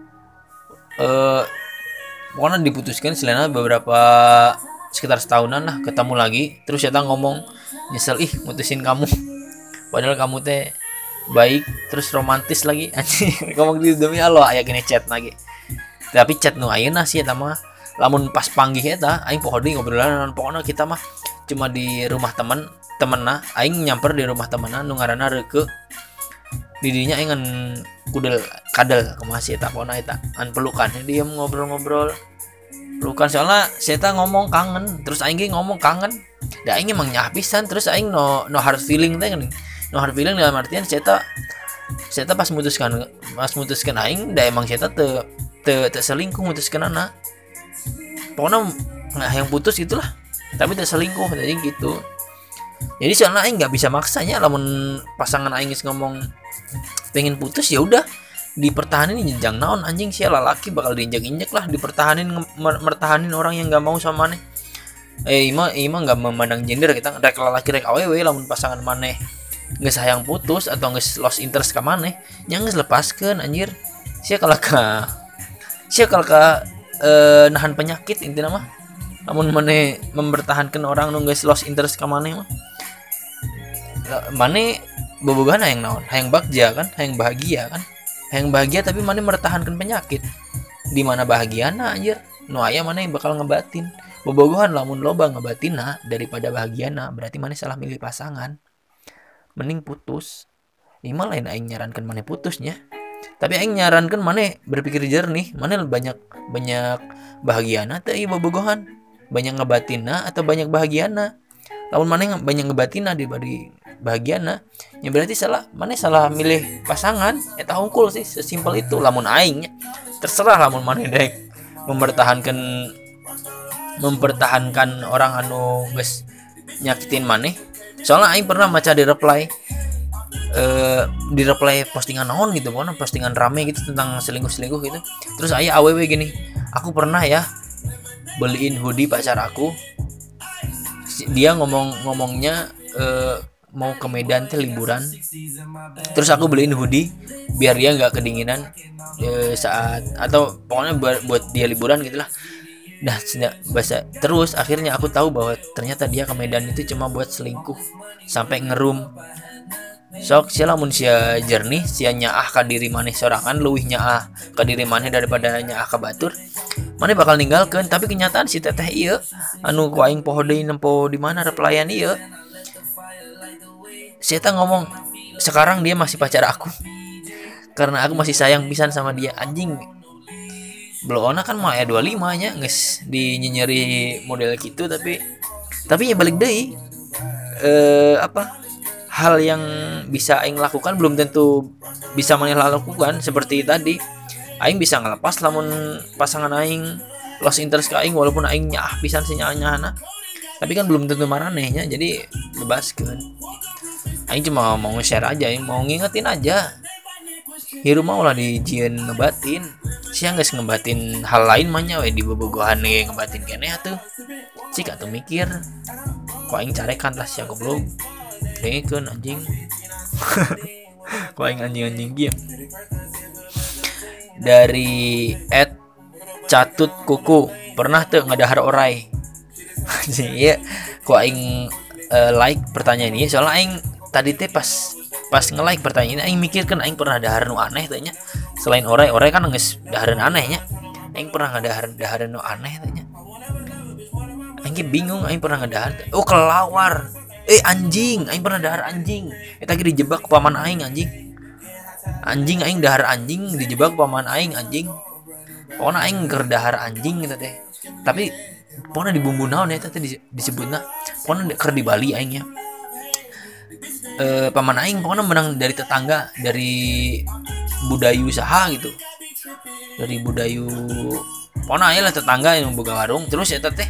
Pokoknya diputuskan selena beberapa sekitar setahunan lah ketemu lagi. Terus saya ngomong nyesel mutusin kamu. Padahal kamu teh baik terus romantis lagi anjing. Ngomong gitu demi Allah aya gini chat lagi. Tapi chat nu ayeuna sih eta mah lamun pas panggih eta aing poho deui ngobrolan pokoknya kita mah cuma di rumah temenna aing nyamper di rumah temenna nu ngaranna Reuke didinya aing ngan kadel kumaha si eta pokona eta an pelukan diem ngobrol pelukan soalnya si eta ngomong kangen terus aing ge ngomong kangen da aing emang nyah pisan terus aing no hard feeling teh geuning no hard feeling dalam artian si eta pas mutuskan aing da emang si eta teu selingkuh mutuskeunana pokona yang putus gitulah tapi teu selingkuh jadi gitu. Jadi soalnya aing nggak bisa maksanya lamun pasangan aing ngomong pengen putus ya udah dipertahanin jenjang naon anjing sia lalaki bakal diinjak-injak lah dipertahanin mertahanin orang yang nggak mau sama maneh. Ima nggak memandang gender kita rek lalaki rek awewe lamun pasangan maneh nggak sayang putus atau nggak lost interest ke maneh nya geus lepaskeun anjir sia kalau nahan penyakit intinya mah lamun maneh mempertahankan orang nu geus lost interest ka maneh mah maneh bobogohan hayang naon hayang bagja kan hayang bahagia tapi maneh mertahankan penyakit di mana bahagiana anjir nu aya maneh bakal ngebatin bobogohan lamun loba ngebatina daripada bahagiana berarti maneh salah milih pasangan mending putus. Ini mah lain aing nyarankeun maneh putusnya tapi aing nyarankeun maneh berpikir jernih maneh banyak bahagiana teh ieu bobogohan banyak ngebatina atau banyak bahagiana. Lamun maneh banyak ngebatina dibanding bahagiana ya berarti maneh salah milih pasangan eta hungkul sih sesimpel itu. Lamun aing terserah lamun maneh dek mempertahankan orang anu geus nyakitin maneh. Soalnya aing pernah maca di reply postingan naon gitu pokoknya postingan rame gitu tentang selingkuh gitu. Terus aya awewe gini, aku pernah ya beliin hoodie pacar aku. Dia ngomongnya mau ke Medan teh liburan. Terus aku beliin hoodie biar dia nggak kedinginan saat atau pokoknya buat dia liburan gitulah. Nah, terus akhirnya aku tahu bahwa ternyata dia ke Medan itu cuma buat selingkuh sampai ngerum. Sok sia lamun sia jernih sia nyaah ka diri maneh sorangan leuwih nyaah ka diri maneh daripada nyaah ka batur maneh bakal ninggalkeun. Tapi kenyataan si teteh ieu anu ku aing poho deui nempo di mana replyan ieu si eta ngomong sekarang dia masih pacar aku karena aku masih sayang pisan sama dia. Anjing blona kan mah 25 nya geus dinyenyeri model gitu tapi ya balik deui hal yang bisa aing lakukan belum tentu bisa maneh lakukan. Seperti tadi aing bisa ngelepas lamun pasangan aing lost interest ke aing walaupun aing nyaah pisan si nyaah-nyaahna tapi kan belum tentu maranehnya jadi bebaskeun. Aing cuma mau share aja, aing mau ngingetin aja hirup mah ulah dijieun ngebatin sia geus ngebatin hal lain mah nya we di bobogohan ge ngebatin keneh atuh cik atuh mikir ku aing carekan tah sia goblok dengekeun anjing ku aing anjing-anjing kieu dari Catut Kuku pernah tuh ngedahar orai anjing iya ku aing like pertanyaan ini soalnya aing tadi teh pas nge-like pertanyaan ini aing mikirkan aing pernah dahar nu aneh tanya selain orai kan geus dahareun anehnya aing pernah ngadahareun nu aneh tanya aing bingung aing pernah ngedahar oh kelawar anjing aing pernah dahar anjing eta ge dijebak ku paman aing anjing aing dahar anjing dijebak ku paman aing anjing pokona aing keur dahar anjing gitu teh tapi pokona di bumbu naon eta teh disebutna pokona keur di Bali aing nya paman aing pokoknya menang dari tetangga dari budayu saha gitu dari budayu pokoknya aya lah tetangga yang boga warung terus eta teh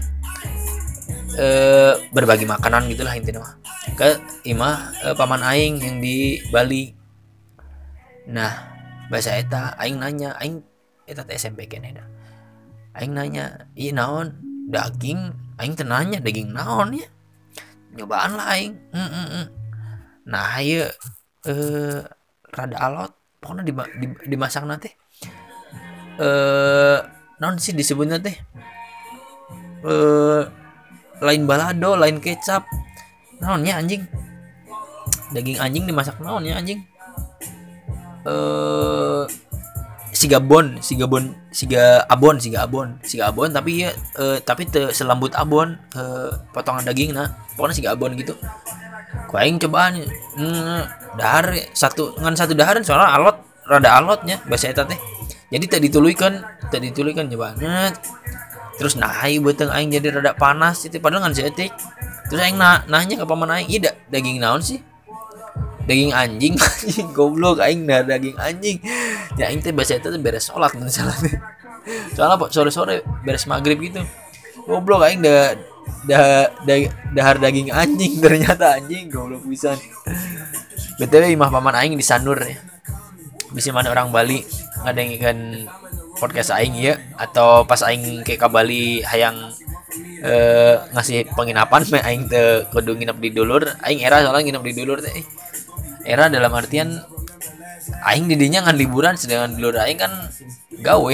berbagi makanan gitulah intinya mah ke imah paman aing yang di Bali. Nah bahasa eta aing nanya aing eta teh SMP keneh dah aing nanya ieu naon daging aing teh nanya daging naon ya nyobaan lah aing nah ieu rada alot pokoknya dimasak nanti naon sih disebutnya teh lain balado lain kecap naonnya anjing daging anjing dimasak naonnya anjing siga abon tapi ya tapi teu selambut abon potongan daging nah pokoknya siga abon gitu ku aing cobaan dahar satu daharan soalnya alot rada alotnya bahasa eta teh jadi teu dituluykeun cobaan terus naik beuteung aing jadi rada panas itu padahal ngan seetik terus aing nanya ke paman aing ieu daging naon sih daging anjing goblok aing dah daging anjing ya aing teh bahasa eta teh beres salat mun salah teh soalnya sore-sore beres maghrib gitu goblok aing dahar daging anjing ternyata anjing goblok pisan btw imah paman aing di Sanur ya bisa mana orang Bali ngadengikeun podcast aing ya atau pas aing ke Bali hayang ngasih penginapan mah aing teu kudu nginep di dulur aing era soalnya nginep di dulur teh era dalam artian aing didinya ngan liburan sedangkan dulur aing kan gawe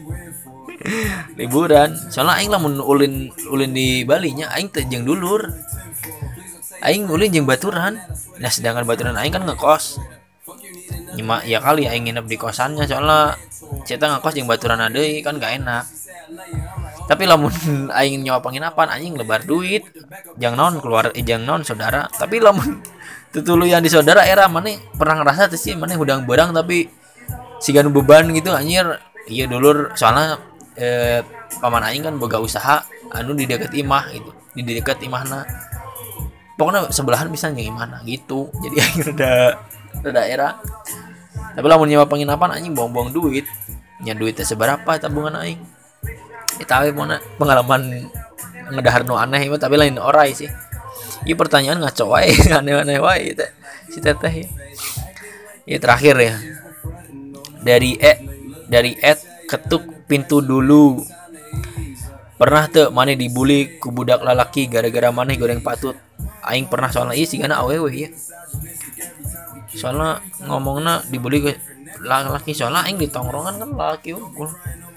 liburan soalnya aing lamun ulin di Bali nya aing teh jeung dulur aing ulin jeung baturan nah sedangkan baturan aing kan ngekos nyimak ya kali aing nginep di kosannya soalnya ceta ngekos jeung baturan deui kan gak enak tapi lamun aing nyawa penginapan anjing lebar duit jang naon keluar jang naon saudara tapi lamun tutuluyan di saudara era maneh pernah ngerasa teh sih maneh hudang beurang tapi siga nu beban gitu anjir ieu dulur soalnya paman aing kan boga usaha anu di dekat imah gitu di dekat imahna pokoknya sebelahan bisa jeung imahna gitu jadi aing rada era tapi lamun nyewa penginapan anjing buang-buang duit nya duit teh seberapa tabungan aing eta we pengalaman ngedahar nu aneh mah tapi lain orai sih ieu pertanyaan ngaco wae aneh-aneh wae teh si teteh ya terakhir ya dari ketuk pintu dulu pernah tuh maneh dibully ku budak lalaki gara-gara maneh goreng patut aing pernah soalnya ieu sigana awewe ya soalnya ngomongna dibully ke laki soalnya aing di tongkrongan kan laki unggul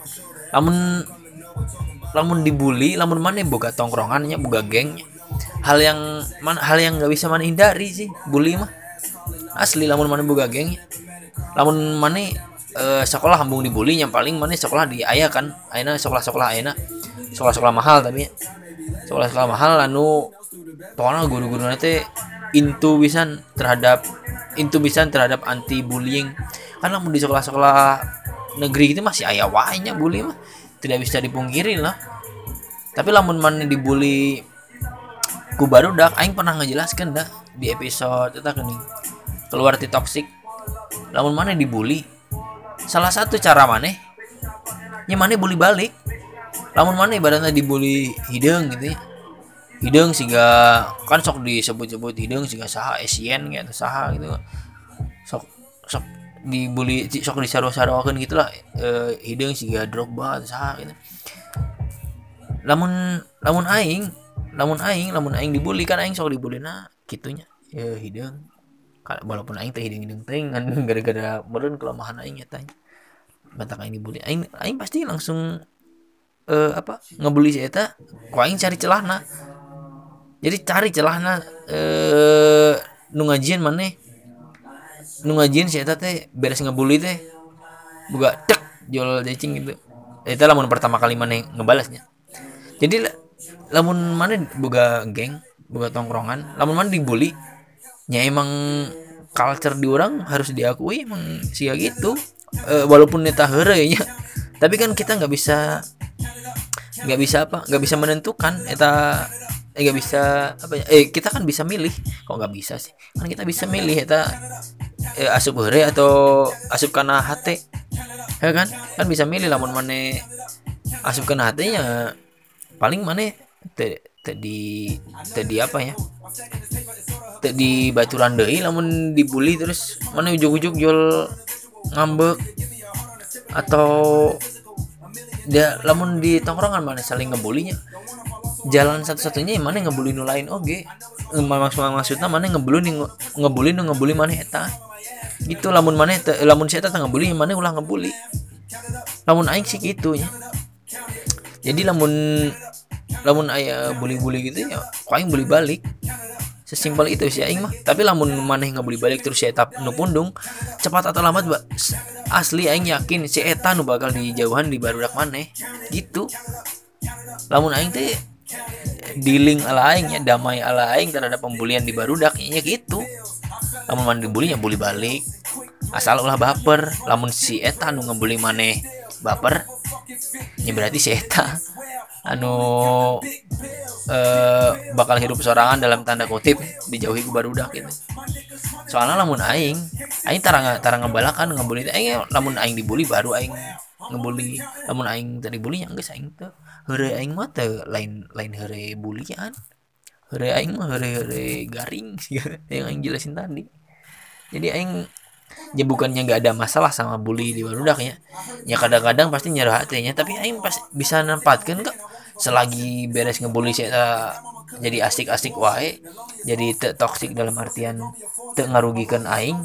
lamun dibully lamun maneh boga tongkrongannya boga geng hal yang nggak bisa maneh hindari sih bully mah asli lamun maneh boga geng lamun maneh sekolah hambung dibully yang paling maneh sekolah di aya kan ayeuna sekolah ayeuna sekolah mahal tapi sekolah mahal anu pokoknya guru-guruna teh intu pisan terhadap anti bullying kan lamun di sekolah negeri itu masih aya wae nya bully mah tidak bisa dipungkiri lah tapi lamun maneh dibully ku barudak aing pernah ngejelaskeun dah di episode eta geuning keluar ti toksik lamun maneh dibully salah satu cara maneh nya maneh bully balik lamun maneh ibaratna dibully hideung gitu ya hideung siga kan sok disebut-sebut hideung siga saha Asian gitu saha gitu sok dibully sok disaro-sarokeun gitulah, hideung siga Drogba atau saha gitu. Lamun aing dibully kan aing sok dibullyna kitunya hideung, walaupun aing teh hideung teh kan gara-gara meureun kelemahan aing eta batak aing dibully, aing pasti langsung ngebully si eta ku aing cari celahna. Jadi cari celahna nu ngajieun maneh, nu ngajieun si eta teh beres ngebully teh boga tek jol cacing gitu. Eta lamun pertama kali maneh ngebalasnya. Jadi lamun maneh boga geng, boga tongkrongan, lamun maneh dibully nya emang culture di orang harus diakui emang sia gitu. Walaupun eta heureuy nya, tapi kan kita nggak bisa menentukan eta, nggak bisa kita kan bisa milih, kok nggak bisa sih, kan kita bisa milih eta asup heureuy atau asup kana hate, ya kan bisa milih. Lamun maneh asup kana hatenya paling maneh tadi apa ya, di baturan deui. Lamun dibully terus maneh ujug-ujug jual ngambek, atau dia lamun di tongkrongan mana saling ngebulinya, jalan satu-satunya mana ngebully nu lain oge. Maksudnya mana ngebully mana eta gitu. Lamun si eta ngebully mana ulah ngebully, lamun aing sih gitu nya. Jadi lamun aya bully gitu ya ku aing bully balik, sesimpel itu sih aing mah. Tapi lamun maneh ngebully balik terus si eta nu pundung, cepat atau lambat asli aing yakin si eta nu bakal dijauhan di barudak maneh gitu. Lamun aing teh dealing ala aing ya, damai ala aing terhadap pembulian di barudak nya gitu. Lamun maneh dibully ya bully balik, asal ulah baper. Lamun si eta nu ngebully maneh baper, ya berarti si eta anu bakal hidup sorangan dalam tanda kutip, dijauhi ku barudak gitu. Soalnya lamun aing tarang ngebalakan ngebully aing, lamun aing dibully baru aing ngebully. Lamun aing tadi bully nya geus aing teh heureuy aing mah teh lain heureuy bulian. Heureuy aing mah heureuy garing yang aing jelasin tadi. Jadi aing ya bukannya nggak ada masalah sama bully di barudak ya kadang-kadang pasti nyerah hatinya, tapi aing pas bisa nempatkeun kok selagi beres ngebully saya jadi asik-asik wae, jadi teu toksik dalam artian teu ngarugikan aing,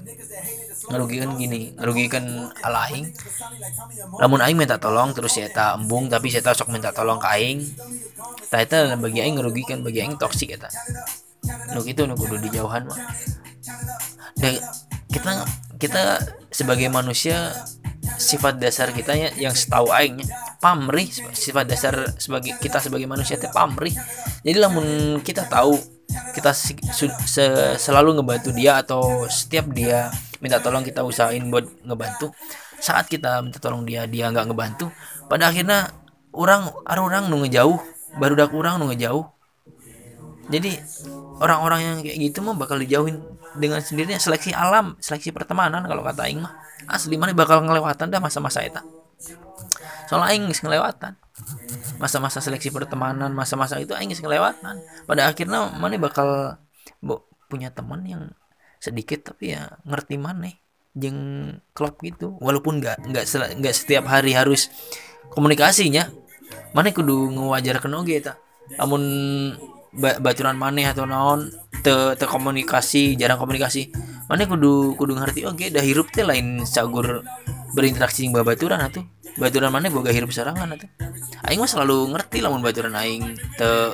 ngarugikan ala aing. Lamun aing minta tolong terus saya eta embung, tapi saya sok minta tolong ke aing, tah eta bagi aing ngarugikan, bagi aing toksik eta. Nu kitu nu kudu dijauhan mah. Dan kita sebagai manusia, sifat dasar kita yang setahu aing pamrih. Sifat dasar sebagai manusia teh pamrih. Jadi lamun kita tahu kita selalu ngebantu dia, atau setiap dia minta tolong kita usahain buat ngebantu, saat kita minta tolong dia nggak ngebantu, pada akhirnya orang nu ngejauh, barudak urang nu ngejauh. Jadi orang-orang yang kayak gitu mah bakal dijauhin dengan sendirinya. Seleksi alam, seleksi pertemanan kalau kata aing mah asli mana bakal ngelewatan dah masa-masa eta. Soalnya aing geus ngelewatan masa-masa seleksi pertemanan, masa-masa itu aing geus ngelewatan. Pada akhirnya mana bakal punya teman yang sedikit tapi ya ngerti maneh jeung klop gitu. Walaupun enggak setiap hari harus komunikasinya, maneh kudu ngewajarkeun oge eta. Lamun baturan maneh atau naon teu komunikasi, jarang komunikasi, maneh kudu ngerti oge da hirup teh lain sagur berinteraksi jeung babaturan atuh. Baturan maneh boga hirup sarangan atuh. Aing mah selalu ngerti lamun baturan aing teu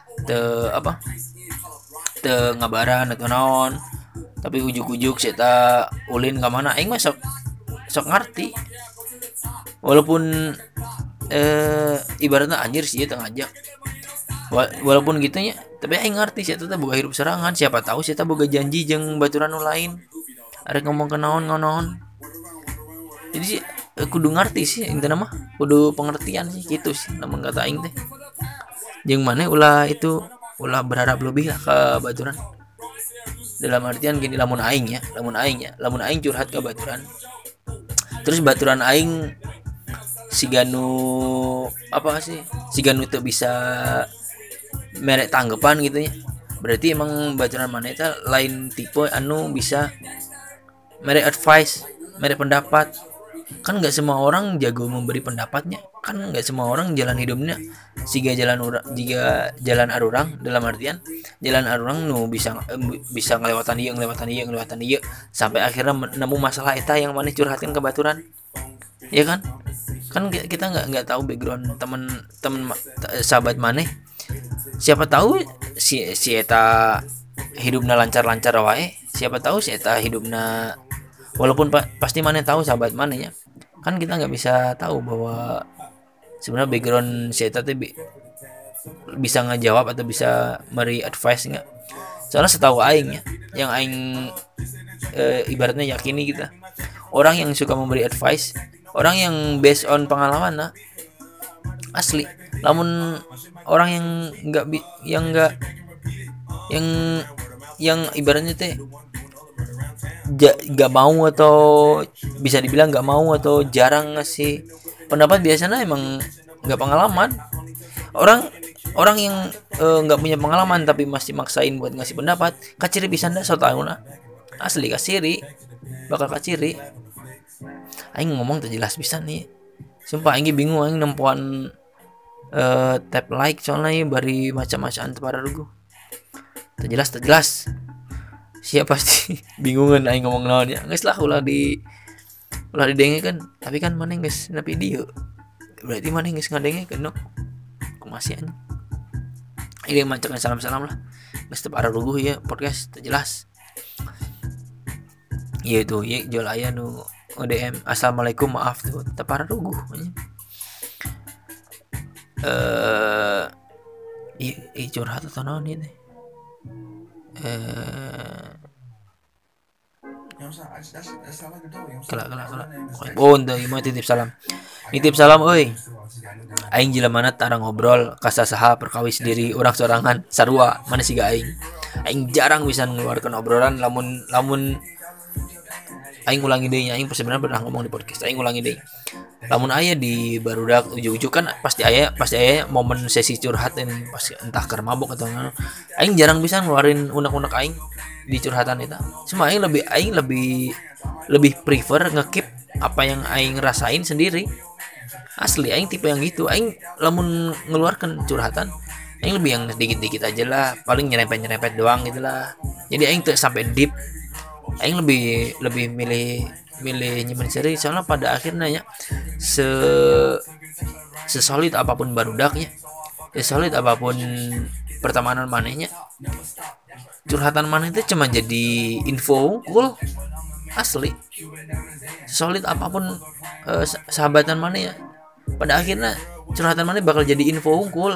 ngabaran atau naon, tapi ujuk-ujuk eta ulin ka mana aing mah sok ngerti. Walaupun ibaratnya anjir sih teu ngajak, walaupun gitunya, tapi aing ngerti sih eta boga hirup serangan. Siapa tahu sih eta boga janji jeung baturan nu lain arek ngomong ke naon. Jadi sih kudu ngerti sih intina mah, kudu pengertian sih gitu sih namun kata aing teh. Jeung maneh ulah berharap lebih lah ke baturan. Dalam artian gini, lamun aing curhat ke baturan, terus baturan aing siganu teu bisa merek tanggapan gitu ya, berarti emang baturan mana itu lain tipe anu bisa merek advice mere pendapat. Kan nggak semua orang jago memberi pendapatnya, kan nggak semua orang jalan hidupnya jika jalan arurang, dalam artian jalan arurang nu bisa ngelewatan dia sampai akhirnya nemu masalah eta yang mana curhatkan ke baturan, ya kan? Kan kita nggak tahu background temen sahabat maneh, siapa tahu si eta hidupnya lancar-lancar wae, siapa tahu si eta hidupnya walaupun pasti maneh tahu sahabat maneh ya, kan kita nggak bisa tahu bahwa sebenarnya background si eta teh bisa ngejawab atau bisa beri advice nggak. Soalnya setahu aing ya, yang aing ibaratnya yakini kita, orang yang suka memberi advice, orang yang based on pengalaman lah, asli. Namun orang yang ibaratnya teh nggak mau atau bisa dibilang nggak mau atau jarang ngasih pendapat, biasanya emang nggak pengalaman. Orang yang nggak punya pengalaman tapi masih maksain buat ngasih pendapat, kaciri bisa ndak so tau nah, asli bakal kaciri. Aing ngomong terjelas bisa nih, sumpah aing bingung, aing nempuan tap like soalnya bari macam-macam para rugu terjelas siapa pasti bingungan aing ngomong naon ya, geus lah ulah didengekeun, tapi kan maneh geus na video berarti maneh geus ngadengekeun no masih anjing. Ini macamnya salam lah geus teu para ruguh ya podcast terjelas. Iya tuh ya jual aya nu DM assalamualaikum maaf tuh teu para ruguh curhat atau naon ini kelak untuk mau titip salam euy aing jelemana tara ngobrol kasasaha perkawis diri urang sorangan sarua mana siga aing jarang bisa mengeluarkan obrolan. Lamun aing ulangi deui nya, aing sebenarnya pernah ngomong di podcast, aing ulangi deui. Lamun aya di barudak ujug-ujug kan pasti aya momen sesi curhat yang pasti entah keur mabok atau ngano. Aing jarang bisa ngeluarin unek-unek aing di curhatan itu. Cuma aing lebih prefer nge-keep apa yang aing rasain sendiri. Asli aing tipe yang gitu. Aing lamun ngeluarkan curhatan aing lebih yang dikit-dikit aja lah, paling nyerempet doang gitu lah. Jadi aing tuh sampai deep. Aing lebih milih nyimpen seri, soalnya pada akhirnya ya sesolid apapun barudaknya, sesolid apapun pertemanan manehnya, curhatan maneh itu cuma jadi info cool. Asli solid apapun sahabatan maneh ya, pada akhirnya curhatan maneh bakal jadi info cool.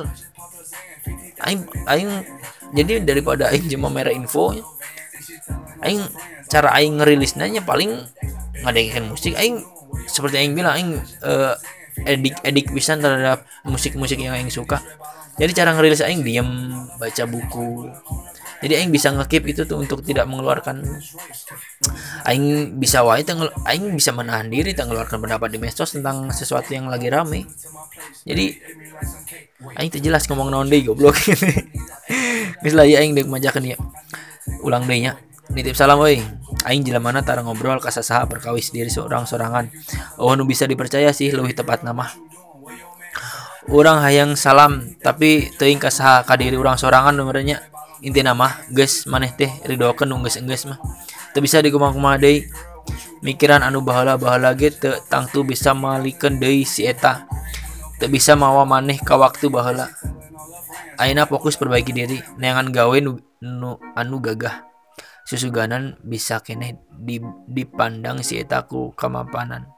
Aing jadi daripada aing cuma merah info, aing cara aing ngerilisnya paling ngadengerin musik. Aing seperti aing bilang, aing edik pisan terhadap musik yang aing suka. Jadi cara ngerilis aing diam baca buku. Jadi aing bisa nge-keep itu tuh untuk tidak mengeluarkan. Aing bisa aing bisa menahan diri tak mengeluarkan pendapat di medsos tentang sesuatu yang lagi rame. Jadi aing teu jelas ngomong naon deui goblok. Geus lah ya aing deuk majakeun ya. Ulang deui nya. Nitip salam euy. Aing jelemana tara ngobrol kasasaha perkawis diri sorangan. Oh nu bisa dipercaya sih leuwih tepat nama. Urang hayang salam tapi teuing kasaha ka diri urang sorangan numernya. Intina mah geus maneh teh ridokeun nu geus mah. Teu bisa dikumaha-kumaha deui. Mikiran anu baheula-baheula ge teu tangtu bisa malikeun deui si eta. Teu bisa mawa maneh ka waktu baheula. Ayeuna fokus perbaiki diri, neangan gawe nu anu gagah. Susuganan bisa keneh dipandang si eta ku kamapanan.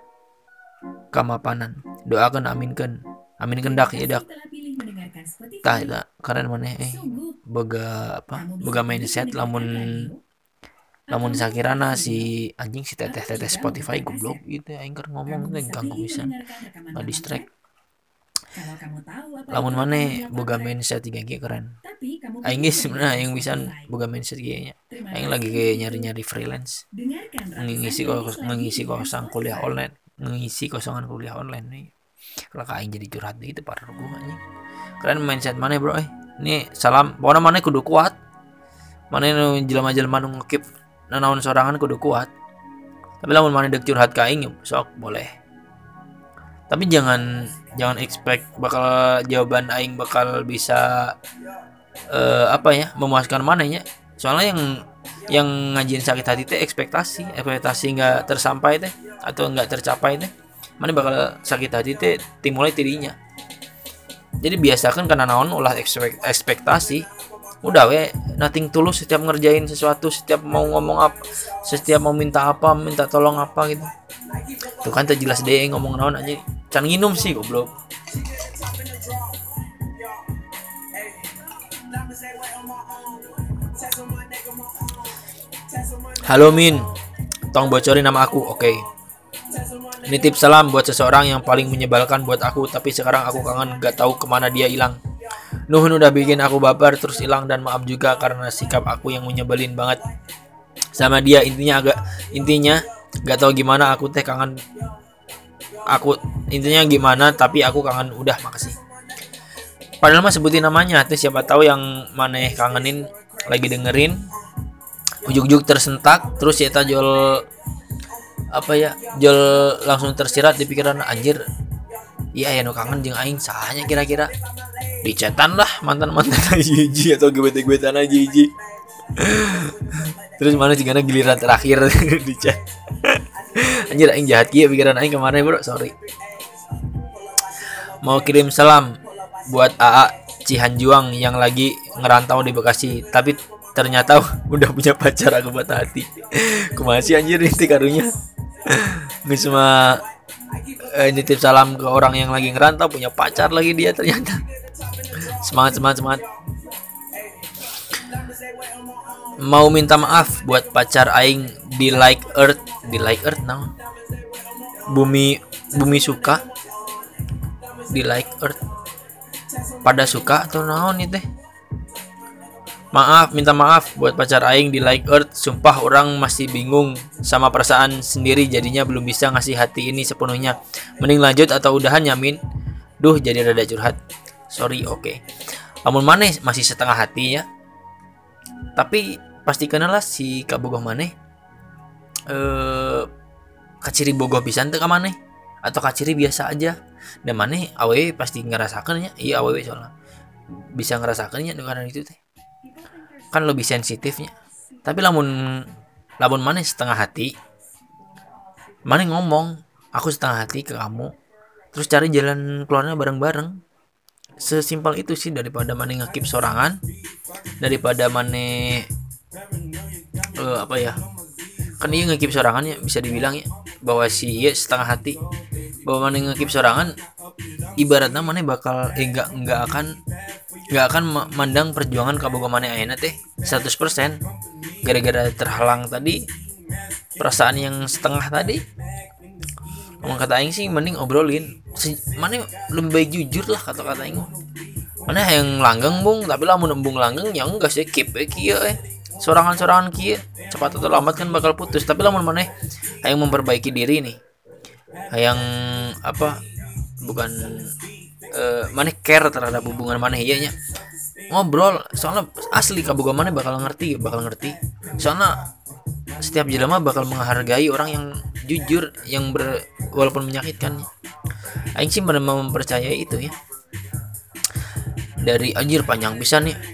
Doakeun aminkeun dak ya dak. Tah eta keren maneh boga mindset lamun sakirana si anjing si teteh Spotify goblok gitu aing keur ngomong teh ganggu pisan ngadistract. Lamun maneh boga mindset tiga ge keren. Aing geus sebenarnya aing bisa boga mindset ge nya. Aing lagi kayak nyari freelance. Ngisi kosongan kuliah online nih. Kalau aing jadi curhat gitu parah gua anjing. Keren mindset maneh bro Ini salam, pokoknya maneh kudu kuat. Maneh nu jelema-jelema nu ngekip nanaon sorangan kudu kuat. Tapi lamun mana dek curhat ke aing sok boleh. Tapi jangan expect bakal jawaban aing bakal bisa memuaskan mananya. Soalnya yang ngajin sakit hati teh ekspektasi nggak tersampai teh atau nggak tercapai teh, mana bakal sakit hati teh dimulai tidinya. Jadi biasakan karena naon ulah ekspektasi, udah we nothing tulus setiap ngerjain sesuatu, setiap mau ngomong apa, setiap mau minta tolong apa gitu. Tuh kan teh jelas deh ngomong naon aja, can nginum sih goblok. Halo Min, tolong bocorin nama aku. Oke. Nitip salam buat seseorang yang paling menyebalkan buat aku, tapi sekarang aku kangen gak tahu kemana dia hilang. Nuhun udah bikin aku baper terus hilang, dan maaf juga karena sikap aku yang menyebelin banget sama dia. Intinya gak tahu gimana aku teh kangen. Intinya gimana tapi aku kangen, udah makasih. Padahal mah sebutin namanya, tuh siapa tahu yang maneh kangenin lagi dengerin, ujuk-ujuk tersentak, terus ya jol langsung tersirat di pikiran, anjir iya ya no kangen jeung aing sahanya kira-kira. Dicetan lah mantan hiji atau gebetan aja hiji. Terus mana cigana giliran terakhir di chat. Anjir aing jahat kieu pikiran aing kemarin bro, sorry. Mau kirim salam buat AA Cihanjuang yang lagi ngerantau di Bekasi, tapi ternyata udah punya pacar. Aku buat hati. Kumaha sih anjir ini karunya. Nggak cuma nitip salam ke orang yang lagi ngerantau, punya pacar lagi dia ternyata. Semangat. Mau minta maaf buat pacar aing di like earth now. Bumi suka di like earth pada suka atau naon nih teh. Minta maaf buat pacar aing di like earth. Sumpah orang masih bingung sama perasaan sendiri, jadinya belum bisa ngasih hati ini sepenuhnya. Mending lanjut atau udahan Yamin? Duh jadi rada curhat. Sorry, oke. Lamun maneh masih setengah hati ya. Tapi pastikan lah si kabogoh maneh kaciri bogoh pisan teu ka maneh atau kaciri biasa aja. Dan maneh awewe pasti ngerasakeun nya. Iya awewe soalnya bisa ngerasakeun nya dengan itu teh. Kan lebih sensitifnya. Tapi lamun maneh setengah hati, maneh ngomong aku setengah hati ke kamu, terus cari jalan keluarnya bareng-bareng. Sesimpel itu sih, daripada maneh ngekip sorangan, daripada maneh kan dia ngekip sorangan ya, bisa dibilang ya bahwa si setengah hati, bahwa maneh ngekip sorangan ibaratnya maneh bakal nggak akan mandang perjuangan kabogoh maneh ayeuna teh 100% gara-gara terhalang tadi perasaan yang setengah tadi. Ngomong kata aing sih mending obrolin. Maneh lebih baik jujur lah kata aing. Maneh yang langgeng bung, tapi lamun embung langgeng ya enggak sih keep kieu sorangan kieu cepat atau lambat kan bakal putus. Tapi lamun maneh hayang memperbaiki diri nih, hayang maneh care terhadap hubungan maneh ieu nya, ngobrol. Soalnya asli kabogoh maneh bakal ngerti. Soalnya setiap jelema bakal menghargai orang yang jujur, yang walaupun menyakitkan. Aing sih benar mempercayai itu ya. Dari anjir panjang pisan nih.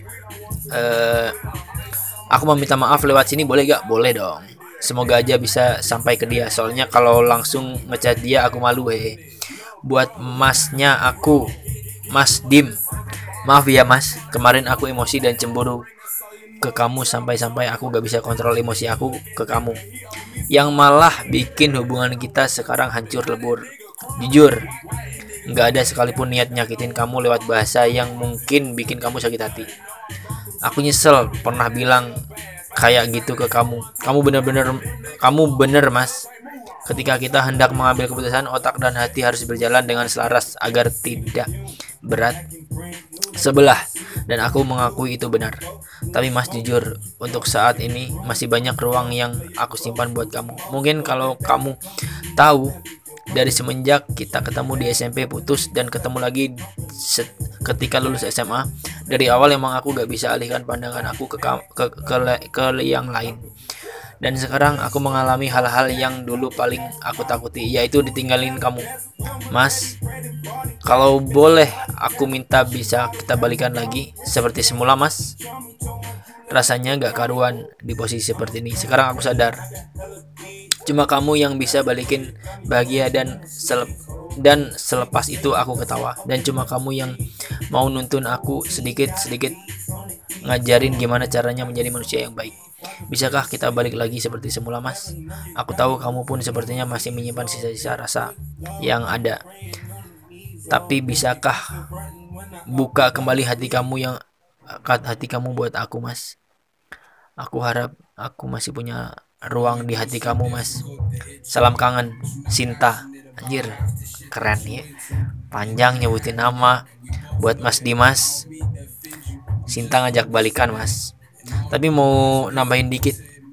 Aku mau minta maaf lewat sini, boleh gak? Boleh dong. Semoga aja bisa sampai ke dia. Soalnya kalau langsung ngechat dia aku malu Buat masnya aku, Mas Dim. Maaf ya mas, kemarin aku emosi dan cemburu ke kamu sampai aku gak bisa kontrol emosi aku ke kamu, yang malah bikin hubungan kita sekarang hancur lebur. Jujur, gak ada sekalipun niat nyakitin kamu lewat bahasa yang mungkin bikin kamu sakit hati. Aku nyesel pernah bilang kayak gitu ke kamu. Kamu bener mas. Ketika kita hendak mengambil keputusan, otak dan hati harus berjalan dengan selaras agar tidak berat sebelah, dan aku mengakui itu benar. Tapi mas jujur, untuk saat ini masih banyak ruang yang aku simpan buat kamu. Mungkin kalau kamu tahu, dari semenjak kita ketemu di SMP putus dan ketemu lagi ketika lulus SMA, dari awal emang aku gak bisa alihkan pandangan aku ke yang lain. Dan sekarang aku mengalami hal-hal yang dulu paling aku takuti, yaitu ditinggalin kamu. Mas, kalau boleh aku minta bisa kita balikan lagi seperti semula, Mas. Rasanya gak karuan di posisi seperti ini. Sekarang aku sadar, cuma kamu yang bisa balikin bahagia dan selepas itu aku ketawa. Dan cuma kamu yang mau nuntun aku sedikit-sedikit, ngajarin gimana caranya menjadi manusia yang baik. Bisakah kita balik lagi seperti semula, Mas? Aku tahu kamu pun sepertinya masih menyimpan sisa-sisa rasa yang ada. Tapi bisakah buka kembali hati kamu buat aku, Mas? Aku harap aku masih punya ruang di hati kamu, Mas. Salam kangen, Sinta. Anjir, keren ya. Panjang nyebutin nama. Buat Mas Dimas, Sinta ngajak balikan, Mas. Tapi mau nambahin dikit.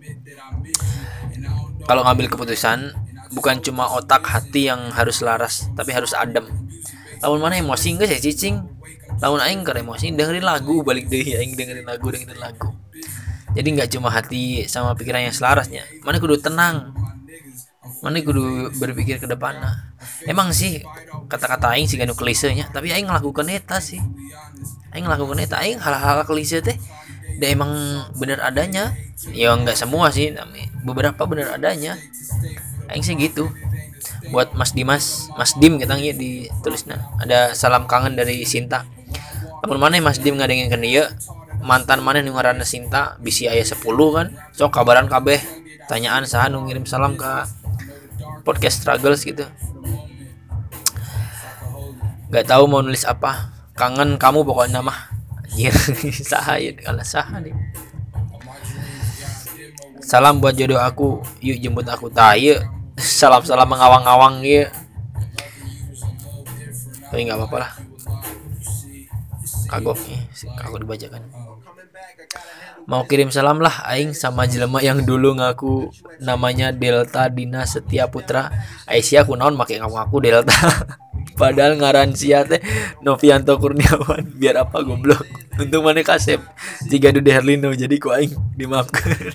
Kalau ngambil keputusan, bukan cuma otak hati yang harus laras, tapi harus adem. Lamun mana emosi enggak sih cicing? Lamun aing ke emosi dengerin lagu, balik deh aing dengerin lagu. Jadi nggak cuma hati sama pikiran yang selarasnya. Mana kudu tenang. Mana kudu berpikir ke depan. Emang sih kata-kata aing sih ganu klisenya, tapi aing ngelakukan eta sih. Aing hal-hal klise teh dan emang bener adanya. Ya nggak semua sih, beberapa bener adanya. Aing sih gitu. Buat Mas Dimas, Mas Dim kita nggak ditulisnya. Ada salam kangen dari Sinta. Lamun mana Mas Dim ngadengin dia, mantan mana nu ngaranna Sinta bisi aya 10 kan. Sok kabaran kabeh. Tanyaan saha nu ngirim salam ke podcast struggles gitu. Gak tahu mau nulis apa. Kangen kamu pokoknya mah. Anjir, saha ya kalau saha nih. Salam buat jodoh aku. Yuk jemput aku tah. Salam-salam mengawang-awang ya. Tapi enggak apa-apa lah. Kagok dibacakan. Mau kirim salam lah aing sama jelema yang dulu ngaku namanya Delta Dina Setia Putra. Aisyah kunaon make ngaku Delta. Padahal ngaran sia teh Novianto Kurniawan. Biar apa goblok. Untung mana kasep jika Dude Herlino jadi ku aing dimaafkan.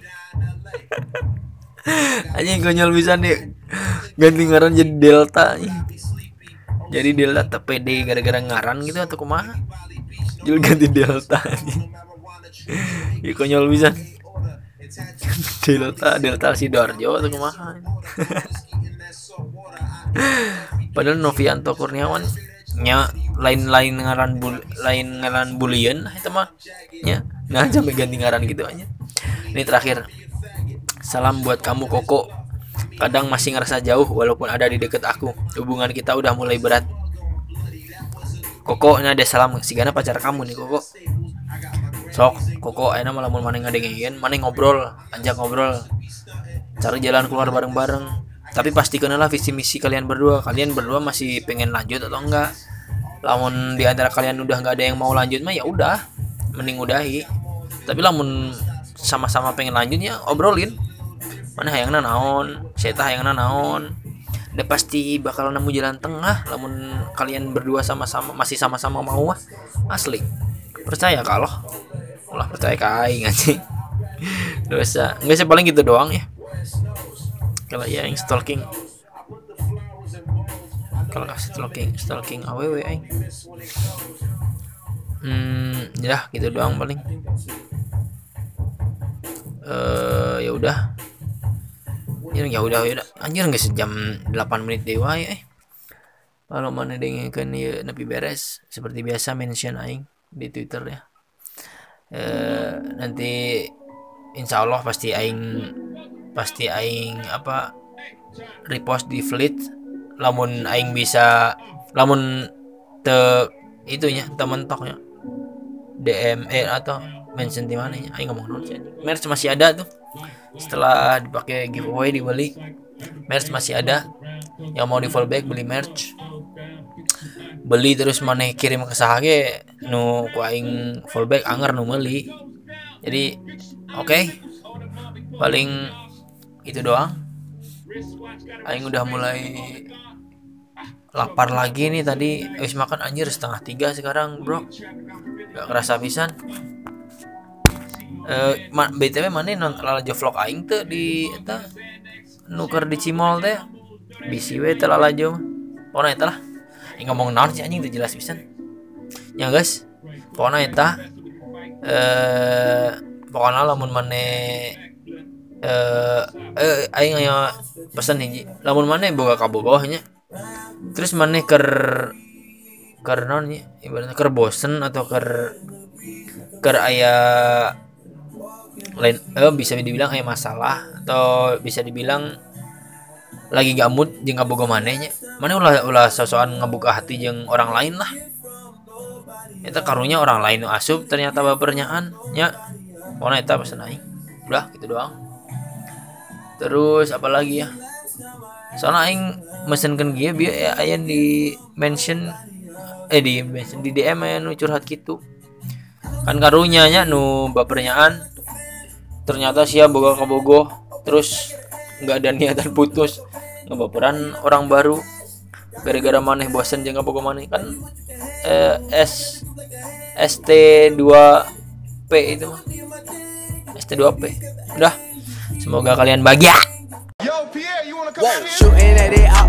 Anjing konyol bisa nih ganti ngaran jadi Delta. Jadi Delta TPD gara-gara ngaran gitu atau kumaha? Jul ganti Delta anjing. Ya konyol bisa. Delta Sidoarjo atau kumaha? Padahal Novianto Kurniawan nya lain ngaran bulian eta mah nya. Nah sampai ganti ngaran gitu aja. Ini terakhir. Salam buat kamu Koko. Kadang masih ngerasa jauh walaupun ada di deket aku. Hubungan kita udah mulai berat. Koko, ini ada salam sigana pacar kamu nih Koko. Sok Koko ayeuna mah lamun maneh ngadengin, maneh ajak ngobrol. Cari jalan keluar bareng-bareng. Tapi pastikan lah visi misi kalian berdua. Kalian berdua masih pengen lanjut atau enggak? Lamun di antara kalian udah enggak ada yang mau lanjut mah ya udah, mending udahi. Tapi lamun sama-sama pengen lanjutnya obrolin. Mana hayangna naon, saya teh hayangna naon. Udah pasti bakal nemu jalan tengah lamun kalian berdua masih sama-sama mau asli. Percaya kalau ulah percaya ke aing anjing. Dosa. Enggak sih paling gitu doang ya. Kalau ya yang stalking aww aing. Ya gitu doang paling. Ya udah anjir nggak sejam 8 menit deh wae kalau mana dengerin ya nepi beres seperti biasa mention aing di Twitter ya. Nanti insya Allah pasti aing apa repost di fleet lamun aing bisa lamun itunya temen-toknya DM atau mention di mana ya aing ngomong non sih. Merch masih ada tuh setelah dipakai giveaway dibeli. Merch masih ada yang mau di fallback beli merch, beli terus maneh kirim ke saha ge nu ku aing fallback anger nu meuli. Jadi oke. Paling itu doang. Aing udah mulai lapar lagi nih tadi habis makan anjir 2:30 sekarang bro. Gak kerasa pisan. BTW mana nonton lalajo vlog aing teh di eta nuker di Cimol teh bisi we teh lalajo pokona eta lah ngomong naon sih anjing teu jelas pisan ya guys pokona eta pokona lamun mane aing aya pesan hiji lamun mane boga kabogoh nya terus mane ker naon nya ibaratna ker bosen atau ker aya lain bisa dibilang aya masalah atau bisa dibilang lagi gak mood jeung ngaboga manehnya mana ulah sosokan ngebuka hati jeung orang lain lah eta karunya orang lain nu asup ternyata bapernyaan nya pokona eta pesan aing udah gitu doang terus apalagi ya soalnya aing mesenkeun kieu bieu aya di mention di DM aya nu curhat gitu kan karunya nya nu bapernyaan ternyata sia boga kabogoh terus nggak ada niatan putus ngebaperan orang baru gara-gara maneh bosen jeung ngaboga maneh kan ST2P itu mah ST2P udah semoga kalian bahagia. Yo, Pierre, you wanna come out here?